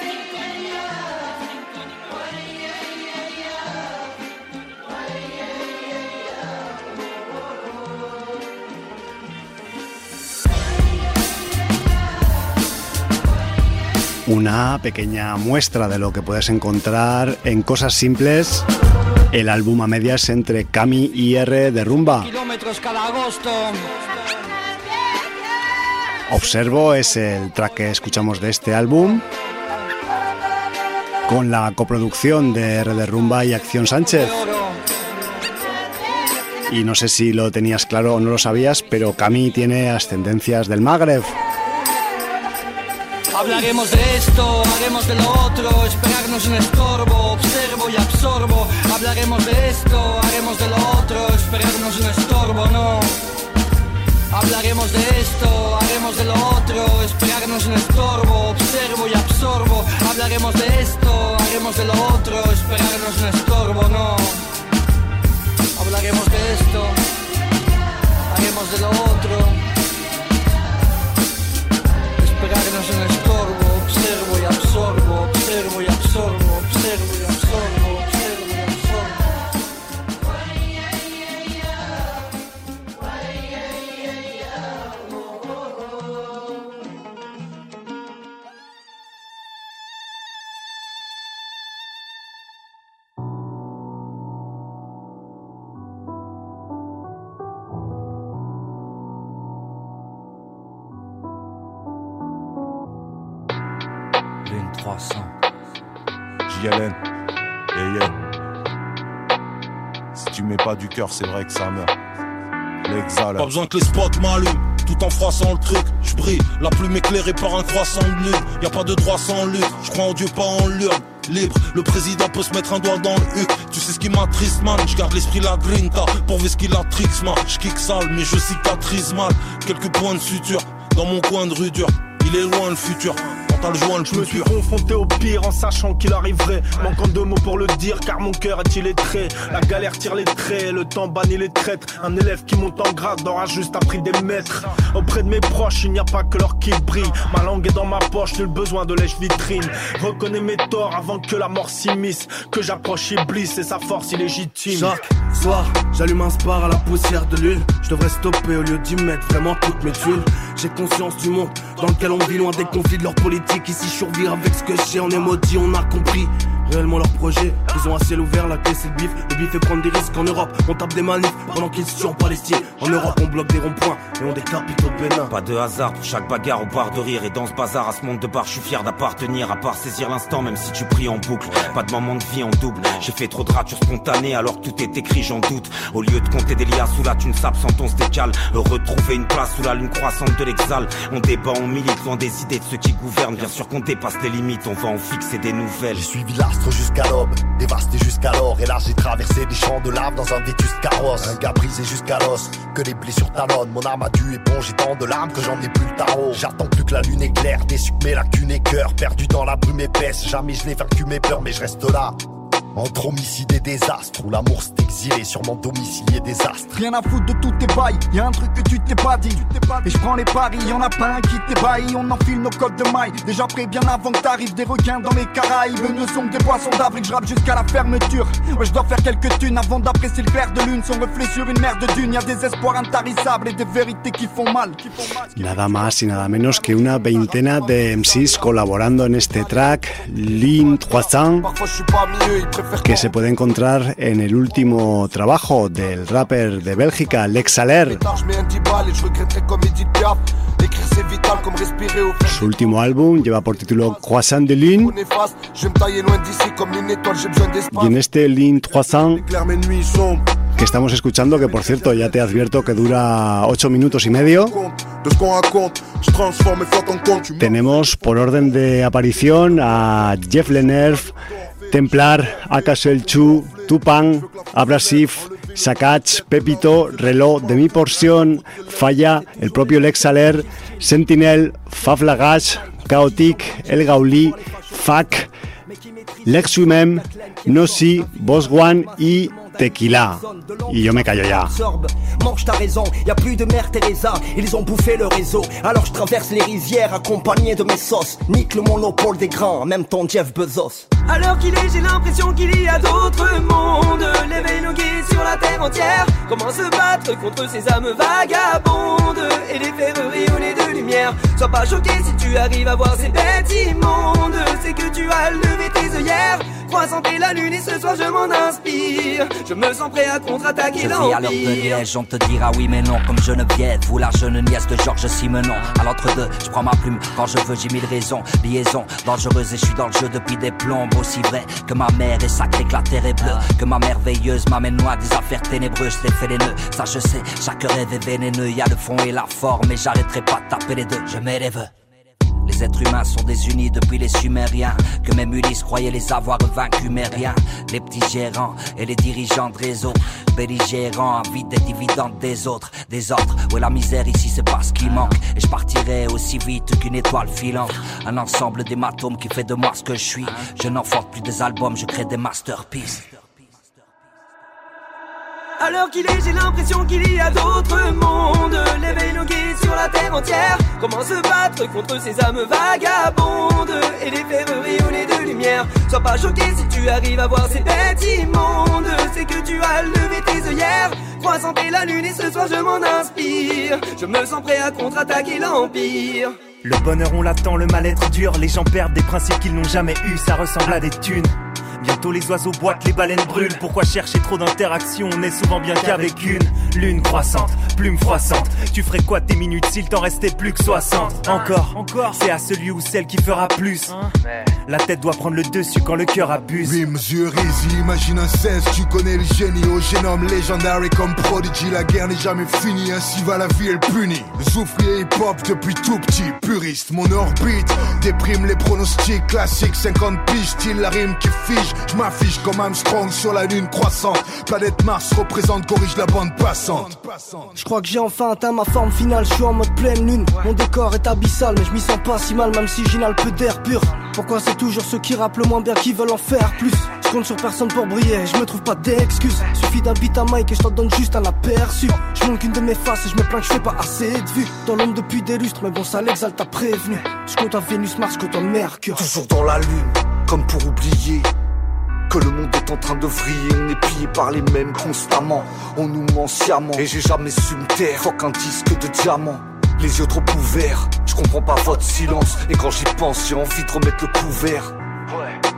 Una pequeña muestra de lo que puedes encontrar en Cosas Simples, el álbum a medias entre Cami y R de Rumba. Kilómetros cada agosto. Observo es el track que escuchamos de este álbum, con la coproducción de R de Rumba y Acción Sánchez. Y no sé si lo tenías claro o no lo sabías, pero Cami tiene ascendencias del Magreb. Hablaremos de esto, haremos de lo otro. Esperarnos un estorbo, observo y absorbo. Hablaremos de esto, haremos de lo otro. Esperarnos un estorbo, no. Hablaremos de esto, haremos de lo otro. Esperarnos un estorbo, observo y absorbo. Hablaremos de esto, haremos de lo otro. Esperarnos un estorbo, no. Hablaremos de esto, haremos de lo otro. Esperarnos un estorbo, observo y absorbo, observo y absorbo, observo y absorbo, observo y absorbo. trois cents J L N, yeah, yeah. Si tu mets pas du cœur, c'est vrai que ça meurt. L'exhale. Pas besoin que les spots m'allument, tout en froissant le truc. J'brille, la plume éclairée par un croissant de lune. Y'a pas de droit sans lutte, j'crois en Dieu pas en l'urne. Libre, le président peut se mettre un doigt dans le huc. Tu sais ce qui m'attriste man, j'garde l'esprit la grinta. Pour ce qu'il a tricks man, j'kick sale mais je cicatrise mal. Quelques points de suture, dans mon coin de rue dure. Il est loin le futur. Le joint, le je me suis confronté au pire en sachant qu'il arriverait. Manquant de mots pour le dire car mon cœur est illettré. La galère tire les traits, le temps bannit les traîtres. Un élève qui monte en grade aura juste appris des maîtres. Auprès de mes proches il n'y a pas que leur qui brille. Ma langue est dans ma poche, nul besoin de lèche-vitrine. Reconnais mes torts avant que la mort s'immisce. Que j'approche Iblis et sa force illégitime. Chaque soir j'allume un spar à la poussière de l'huile. Je devrais stopper au lieu d'y mettre vraiment toutes mes thunes. J'ai conscience du monde dans lequel on vit, loin des conflits de leur politique. Ici je survis avec ce que j'ai, on est maudit, on a compris. réellement leur projet. Ils ont à ciel ouvert, la clé c'est le bif. Le bif fait prendre des risques en Europe, on tape des manifs pendant qu'ils se tuent en Palestine. En Europe on bloque des ronds-points et on décapite au Bénin. Pas de hasard pour chaque bagarre, on part de rire. Et dans ce bazar, à ce monde de bar, je suis fier d'appartenir. À part saisir l'instant, même si tu pries en boucle. Pas de moment de vie en double. J'ai fait trop de ratures spontanées alors que tout est écrit, j'en doute. Au lieu de compter des liasses où la thune s'absente, on se décale. Retrouver une place sous la lune croissante de l'exal. On débat, on milite, loin des idées de ceux qui gouvernent. Bien sûr qu'on dépasse les limites, on va en fixer des nouvelles. J'ai suivi l'astre jusqu'à l'aube, dévasté jusqu'alors. Et là j'ai traversé des champs de lave dans un vétuste carrosse. Un gars brisé jusqu'à l'os, que les blessures talonnent. Mon âme a dû éponger tant de larmes que j'en ai plus le tarot. J'attends plus que la lune éclaire, déçu que mes lacunes et cœur. Perdu dans la brume épaisse, jamais je n'ai vaincu mes peurs, mais je reste là. Entre homicide et désastre, où l'amour s'est exilé sur mon domicilié désastre. Rien à foutre de tous tes bails, y'a un truc que tu t'es pas dit. Et je prends les paris, y'en a pas un qui t'ébahit. On enfile nos codes de maille, déjà prêt bien avant que t'arrives. Des requins dans les Caraïbes, ne sont que des poissons d'avril. Je rappe jusqu'à la fermeture, ouais je dois faire quelques thunes avant d'apprécier le clair de lune. Son reflet sur une mer de dunes, y'a des espoirs intarissables et des vérités qui font mal, qui font mal. Nada más y nada menos que una veintena de M Cs colaborando en este track, Lean trois cents, que se puede encontrar en el último trabajo del rapper de Bélgica, Lex Aller. Su último álbum lleva por título Croissant de Lune. Y en este Lean trois cents que estamos escuchando, que por cierto ya te advierto que dura ocho minutos y medio, tenemos por orden de aparición a Jeff Lenerf, Templar, Akash El Chu, Tupan, Abrasif, Sakach, Pepito, Reloj, De Mi Porción, Falla, el propio Lex Aller, Sentinel, Faf Lagash, Chaotic, El Gauli, Fak, Lex Wimem, Nossi, Boss One y Tequila. Y yo me callo ya. Mange ta raison, y a plus de mère Teresa, ils ont bouffé le réseau. Alors je traverse les rivières accompagné de mes sauces. Nique le monopole des grands, même ton Jeff Bezos. Alors qu'il est, j'ai l'impression qu'il y a d'autres mondes. L'éveil nogué sur la terre entière. Comment se battre contre ces âmes vagabondes et les faire rayonner de lumière. Sois pas choqué si tu arrives à voir ces bêtes immondes. C'est que tu as levé tes œillères. Croissant et la lune et ce soir je m'en inspire. Je me sens prêt à contre-attaquer l'empire. Je vis à l'heure de Liège, on te dira oui mais non. Comme Geneviève ou la jeune nièce de Georges Simenon. À l'entre-deux, je prends ma plume quand je veux, j'ai mille raisons. Liaison dangereuse et je suis dans le jeu depuis des plombes. Aussi vrai que ma mère est sacrée, que la terre est bleue. Que ma merveilleuse m'amène loin des affaires ténébreuses. Je t'ai fait les nœuds, ça je sais, chaque rêve est vénéneux. Y'a le fond et la forme et j'arrêterai pas de taper les deux. Je mets les vœux. Les êtres humains sont désunis depuis les Sumériens. Que même Ulysse croyait les avoir vaincus mais rien. Les petits gérants et les dirigeants de réseau belligérants avides des dividendes des autres. Des ordres, où est la misère ici c'est pas ce qui manque. Et je partirai aussi vite qu'une étoile filante. Un ensemble d'hématomes qui fait de moi ce que je suis. Je n'enforte plus des albums, je crée des masterpieces. Alors qu'il est, j'ai l'impression qu'il y a d'autres mondes. L'éveil nogué sur la terre entière. Comment se battre contre ces âmes vagabondes et les faire rayonner de lumière. Sois pas choqué si tu arrives à voir ces bêtes immondes. C'est que tu as levé tes œillères. Croissant et la lune et ce soir je m'en inspire. Je me sens prêt à contre-attaquer l'empire. Le bonheur on l'attend, le mal-être dure. Les gens perdent des principes qu'ils n'ont jamais eu. Ça ressemble à des thunes. Bientôt les oiseaux boitent, les baleines brûlent. Pourquoi chercher trop d'interactions? On est souvent bien qu'avec une lune croissante, plume froissante. Tu ferais quoi tes minutes s'il t'en restait plus que soixante? Encore, encore, c'est à celui ou celle qui fera plus. La tête doit prendre le dessus quand le cœur abuse. Rims, yeux easy, imagine un seize. Tu connais le génie, au génome légendaire comme Prodigy. La guerre n'est jamais finie, ainsi va la vie, elle punit. Souffrier hip-hop depuis tout petit, puriste. Mon orbite déprime les pronostics classiques. cinquante piges, style la rime qui fige. Je m'affiche comme Armstrong sur la lune croissante. Planète Mars représente, corrige la bande passante. Je crois que j'ai enfin atteint ma forme finale. Je suis en mode pleine lune. Mon décor est abyssal, mais je m'y sens pas si mal, même si j'inhale peu d'air pur. Pourquoi c'est toujours ceux qui rappent le moins bien qui veulent en faire plus? Je compte sur personne pour briller, je me trouve pas d'excuses. Suffit d'un beat à mic et je t'en donne juste un aperçu. Je montre qu'une de mes faces et je me plains que je fais pas assez de vues. Dans l'ombre depuis des lustres, mais bon ça l'exalte, t'as prévenu. Je compte à Vénus, Mars, je compte à Mercure. Toujours dans la lune, comme pour oublier que le monde est en train de vriller. On est pillé par les mêmes constamment. On nous ment sciemment et j'ai jamais su me taire. Faut qu'un disque de diamant, les yeux trop ouverts. Je comprends pas votre silence et quand j'y pense j'ai envie de remettre le couvert. Ouais.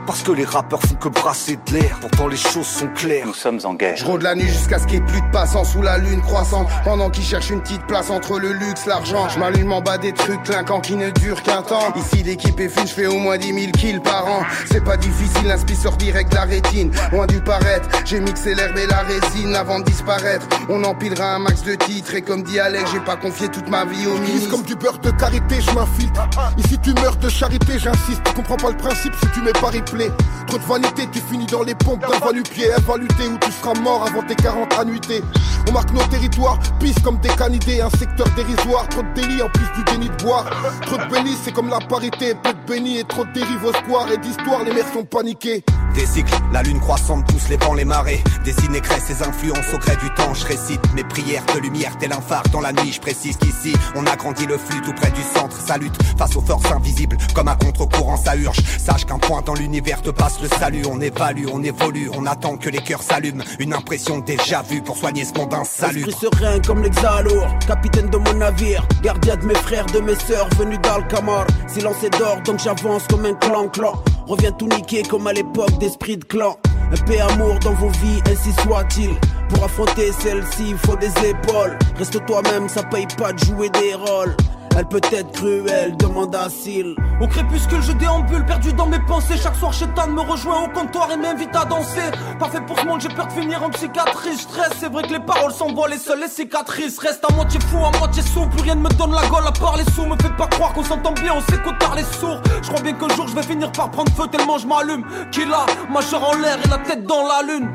Parce que les rappeurs font que brasser de l'air. Pourtant les choses sont claires. Nous sommes en guerre. Je rôde la nuit jusqu'à ce qu'il n'y ait plus de passants sous la lune croissante. Pendant qu'ils cherchent une petite place entre le luxe, l'argent. Je m'allume en bas des trucs clinquants qui ne durent qu'un temps. Ici l'équipe est fine, je fais au moins dix mille kills par an. C'est pas difficile, l'inspi sort direct de la rétine. Loin du paraître, j'ai mixé l'herbe et la résine avant de disparaître. On empilera un max de titres et comme dit Alex, j'ai pas confié toute ma vie au ministre. Comme du beurre de karité, je m'infiltre. Ici tu meurs de charité, j'insiste. Tu comprends pas le principe si tu mets pas replay. Trop de vanité, tu finis dans les pompes d'un va-nu-pied. Elle va lutter où tu seras mort avant tes quarante annuités. On marque nos territoires, pisse comme des canidés. Un secteur dérisoire, trop de délit en plus du déni de boire. Trop de bénis, c'est comme la parité. Peu de bénis et trop de dérives au square. Et d'histoire, les mères sont paniquées. Des cycles, la lune croissante pousse les vents, les marées. Dessine et crée ses influences au gré du temps. Je récite mes prières de lumière, tel un phare dans la nuit. Je précise qu'ici, on agrandit le flux tout près du centre. Ça lutte face aux forces invisibles, comme un contre-courant ça urge. Sache qu'un point dans l'univers te passe le salut. On évalue, on évolue, on attend que les cœurs s'allument. Une impression déjà vue pour soigner ce monde insalubre. Esprit serein comme l'exalour, capitaine de mon navire, gardien de mes frères, de mes sœurs, venus d'Alcamar. Silence et d'or, donc j'avance comme un clan-clan. Reviens tout niquer comme à l'époque d'esprit de clan. Un paix amour dans vos vies, ainsi soit-il. Pour affronter celle-ci, il faut des épaules. Reste toi-même, ça paye pas de jouer des rôles. Elle peut être cruelle, demande à Syl. Au crépuscule je déambule, perdu dans mes pensées. Chaque soir Chétan me rejoint au comptoir et m'invite à danser. Pas fait pour ce monde, j'ai peur de finir en psychiatrie. Stress, c'est vrai que les paroles s'envolent et seules les cicatrices restent à moitié fou, à moitié sous. Plus rien ne me donne la gaule à part les sous. Me faites pas croire qu'on s'entend bien, on s'écoute par les sourds. Je crois bien qu'un jour je vais finir par prendre feu tellement je m'allume. Qu'il a, majeur en l'air et la tête dans la lune.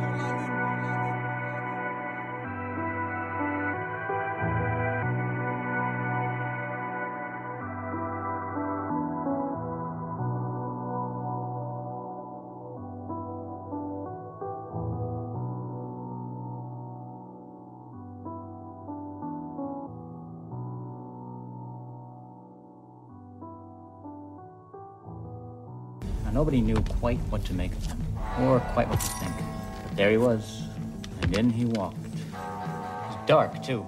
Nobody knew quite what to make of him, or quite what to think. But there he was, and in he walked. He was dark, too.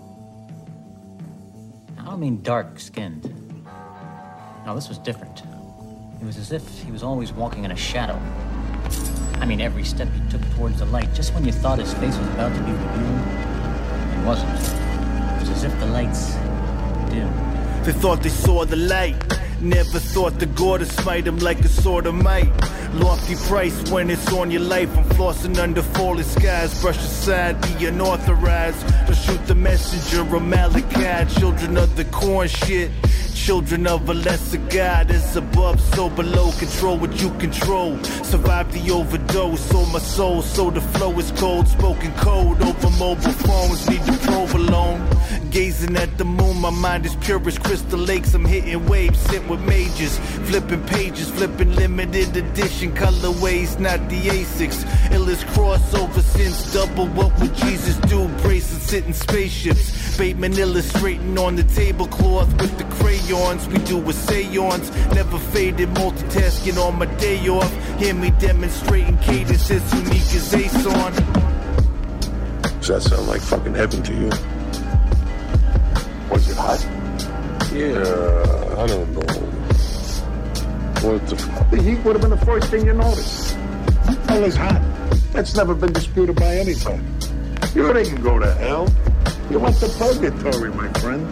I don't mean dark-skinned. No, this was different. It was as if he was always walking in a shadow. I mean, every step he took towards the light, just when you thought his face was about to be revealed, it wasn't. It was as if the lights dimmed. They thought they saw the light. Never thought the gore to smite him like a sword of might. Lofty price when it's on your life. I'm flossing under falling skies. Brush aside the unauthorized. Or shoot the messenger of Malachi. Children of the corn shit. Children of a lesser God. It's above, so below. Control what you control. Survive the overdose. So my soul, so the flow is cold. Spoken code over mobile phones. Need the provolone. Gazing at the moon, my mind is pure as crystal lakes. I'm hitting waves, sit with majors. Flipping pages, flipping limited edition colorways, not the Asics. Illest crossover since double. What would Jesus do? Braces sitting spaceships. Bateman illustrating on the tablecloth with the crayons. We do a seance, never faded. Multitasking on my day off. Hear me demonstrating cadence as unique as Ace on. Does that sound like fucking heaven to you? Was it hot? Yeah, I don't know. What the fuck? The heat would have been the first thing you noticed. Hell is hot. That's never been disputed by anybody. You didn't go to hell. You went to purgatory, my friend.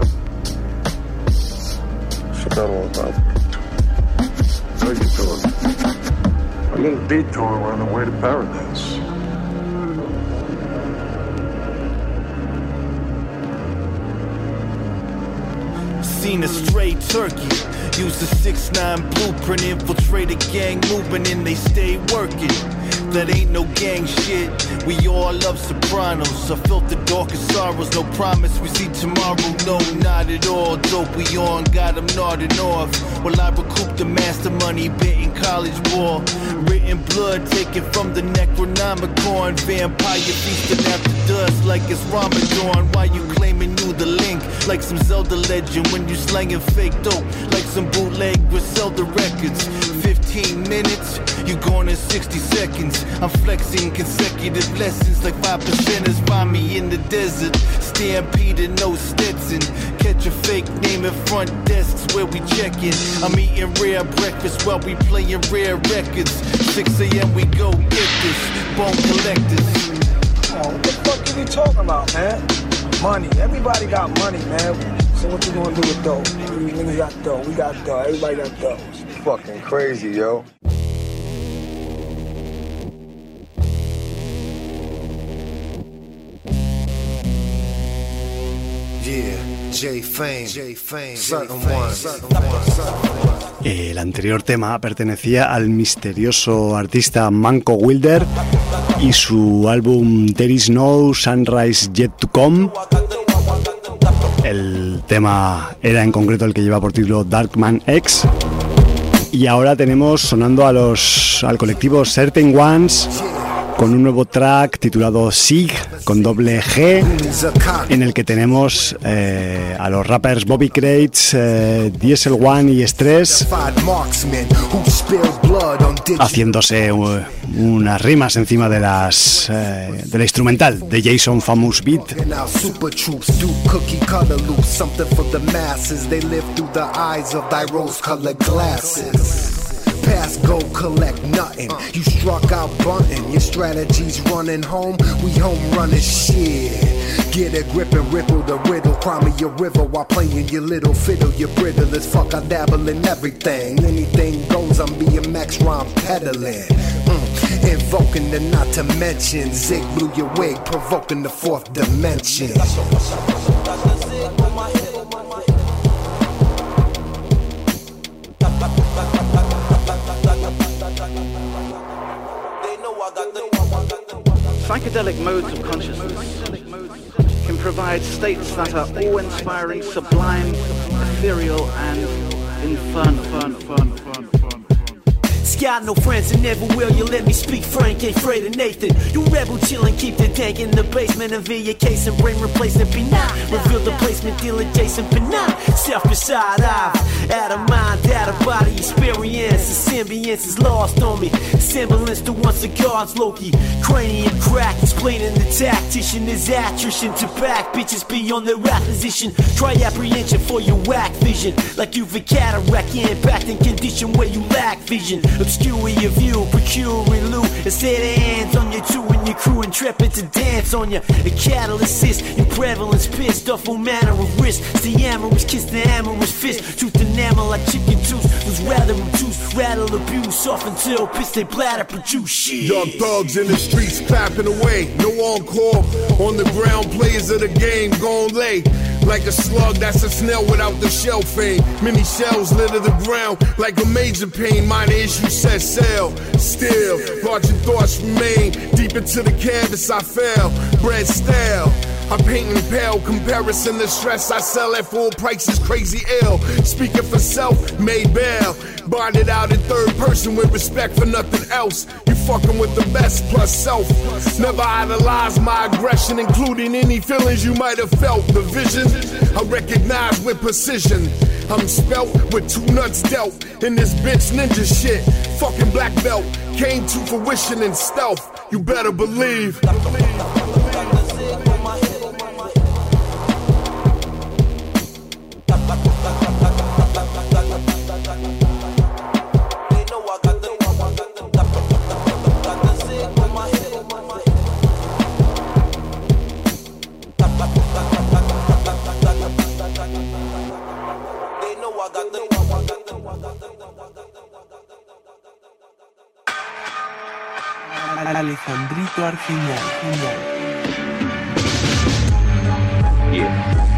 Forgot all about it. Purgatory. A little detour on the way to paradise. Seen a stray turkey. Use a six nine blueprint. Infiltrate a gang movement and they stay working. That ain't no gang shit. We all love Sopranos. I felt the darkest sorrows. No promise we see tomorrow. No, not at all. Dope we on. Got them nodding off. While I recoup the master money. Betting college ball. Written blood taken from the Necronomicon. Vampire feasting after dusk like it's Ramadan. Why you claiming you the link? Like some Zelda legend. When you slanging fake dope. Like some bootleg Griselda records. fifteen fifteen minutes, you're gone in sixty seconds. I'm flexing consecutive lessons like five percenters. Find me in the desert, stampede no Stetson. Catch a fake name in front desks where we checkin'. I'm eating rare breakfast while we playing rare records. six a.m. we go get this, bone collectors. Oh, what the fuck are you talking about, man? Money. Everybody got money, man. So what you gonna do with dough? We niggas got dough. We got dough. Everybody got dough. It's fucking crazy, yo. Yeah, J-Fame, J-Fame, certain one, certain one. El anterior tema pertenecía al misterioso artista Manco Wilder y su álbum There Is No Sunrise Yet To Come. El tema era en concreto el que lleva por título Darkman X. Y ahora tenemos sonando a los, al colectivo Certain Ones con un nuevo track titulado Sig con doble G, en el que tenemos eh, a los rappers Bobby Crates, eh, Diesel One y Stress haciéndose uh, unas rimas encima de las eh, de la instrumental de Jason Famous Beat. Pass, go, collect nothing. You struck out bunting. Your strategy's running home. We home running shit. Get a grip and ripple the riddle. Cry me your river while playing your little fiddle. You're brittle as fuck. I dabble in everything. Anything goes. I'm B M X rhyme peddling. Mm. Invoking the not to mention. Zig blew your wig, provoking the fourth dimension. Psychedelic modes of consciousness can provide states that are awe-inspiring, sublime, ethereal, and infernal. Fun, fun, fun, fun. Got no friends and never will. You let me speak frank, ain't afraid of Nathan. You rebel chillin', keep the tank in the basement. And via case and brain replacement be not. Reveal the placement, deal adjacent but not. Self beside I've out of mind, out of body experience. The symbionce is lost on me. Semblance to once a God's Loki. Cranium crack, explaining the tactician is attrition to back. Bitches be on their acquisition. Try apprehension for your whack vision. Like you've a cataract, impacting condition where you lack vision. Obscure your view, procuring loot. Instead of hands on your two and your crew, intrepid to dance on you. The catalyst is in prevalence, pissed off all manner of risk. It's the amorous kiss, the amorous fist. Tooth enamel like chicken tooth. Who's rather obtuse, rattle abuse, soft until piss they bladder produce shit. Young thugs in the streets clapping away. No encore on the ground, players of the game gon' lay. Like a slug, that's a snail without the shell fame. Many shells litter the ground like a major pain. Minor issue set sail. Still, larger thoughts remain. Deep into the canvas I fell. Bread stale. I paint in pale comparison to stress. I sell at full prices, crazy ill. Speaking for self, made bail. Bonded out in third person with respect for nothing else. You fucking with the best plus self. Never idolize my aggression, including any feelings you might have felt. The vision I recognize with precision. I'm spelt with two nuts dealt in this bitch ninja shit. Fucking black belt came to fruition in stealth. You better believe. Alejandrito Argimón. Yeah.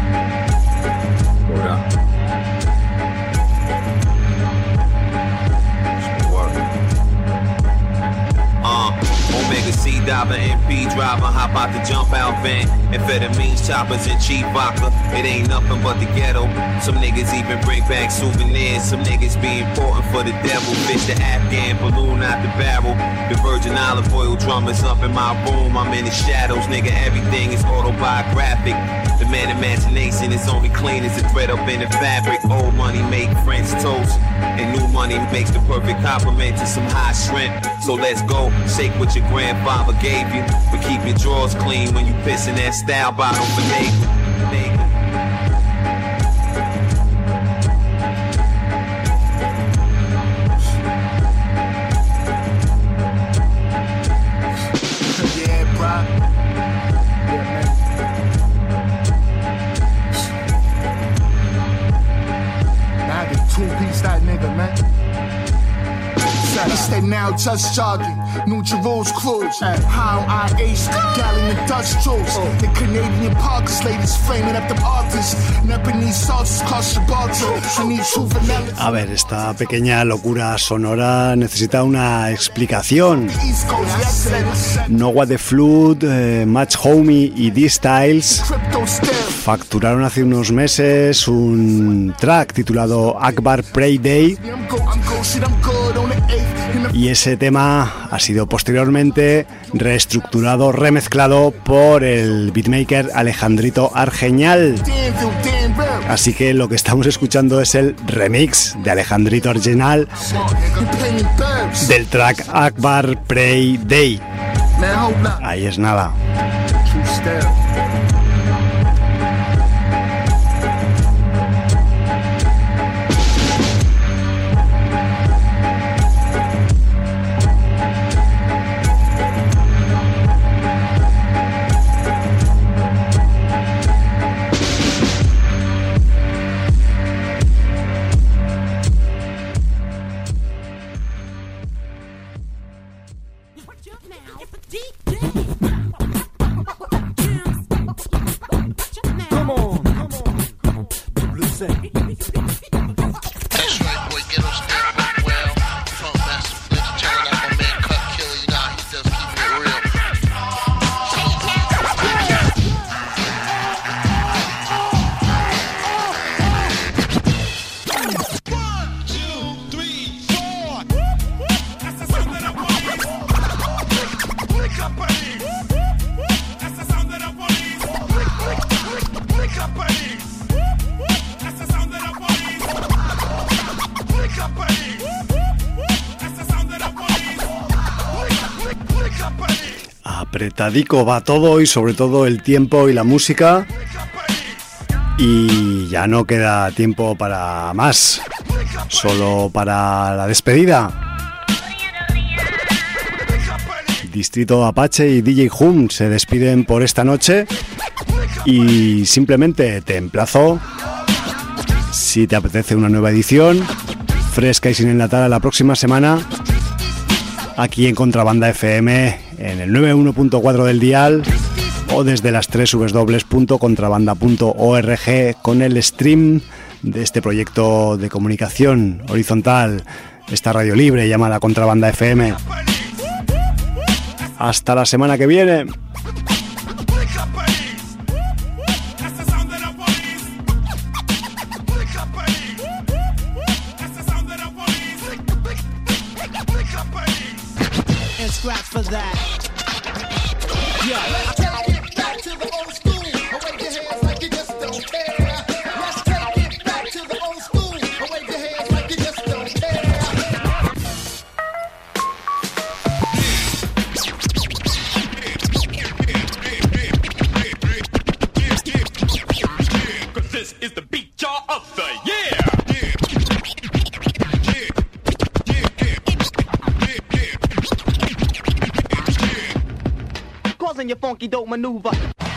Hold up. Uh, Omega C dot driver, M P driver, hop out the jump out van. Amphetamines, choppers, and cheap vodka. It ain't nothing but the ghetto. Some niggas even bring back souvenirs. Some niggas be important for the devil. Fish the Afghan balloon out the barrel. The Virgin olive oil drum is up in my room. I'm in the shadows, nigga. Everything is autobiographic. The man imagination is only clean as a thread up in the fabric. Old money make French toast, and new money makes the perfect compliment to some hot shrimp. So let's go, shake what your grandfather gave you, but keep your drawers clean when you piss in that style bottle for nigga. Stay now just jogging, New Jerusalem cruise. How I ace, gallon of Dutch juice. The Canadian Parkers, ladies framing up the artists. Nepalese sauces cost your bottle. I need two vanilla. A ver, esta pequeña locura sonora necesita una explicación. No What the Flood, eh, Match Homie y D-Styles facturaron hace unos meses un track titulado Akbar Pray Day, y ese tema ha sido posteriormente reestructurado, remezclado por el beatmaker Alejandrito Argeñal. Así que lo que estamos escuchando es el remix de Alejandrito Argeñal del track Akbar Pray Day. Ahí es nada. Apretadico va todo, y sobre todo el tiempo y la música, y ya no queda tiempo para más, solo para la despedida. Distrito Apache y D J Hum se despiden por esta noche, y simplemente te emplazo, si te apetece una nueva edición fresca y sin enlatar, a la próxima semana aquí en Contrabanda F M, en el noventa y uno punto cuatro del dial, o desde las doble u doble u doble u punto contrabanda punto org, con el stream de este proyecto de comunicación horizontal, esta radio libre llamada Contrabanda F M. Hasta la semana que viene. For that. Yeah. Let's take it back to the old school. Wave your hands like you just don't care. Let's take it back to the old school. Wave your hands like you just don't care. Cause this is the beat jar of the year. Causing your funky dope maneuver.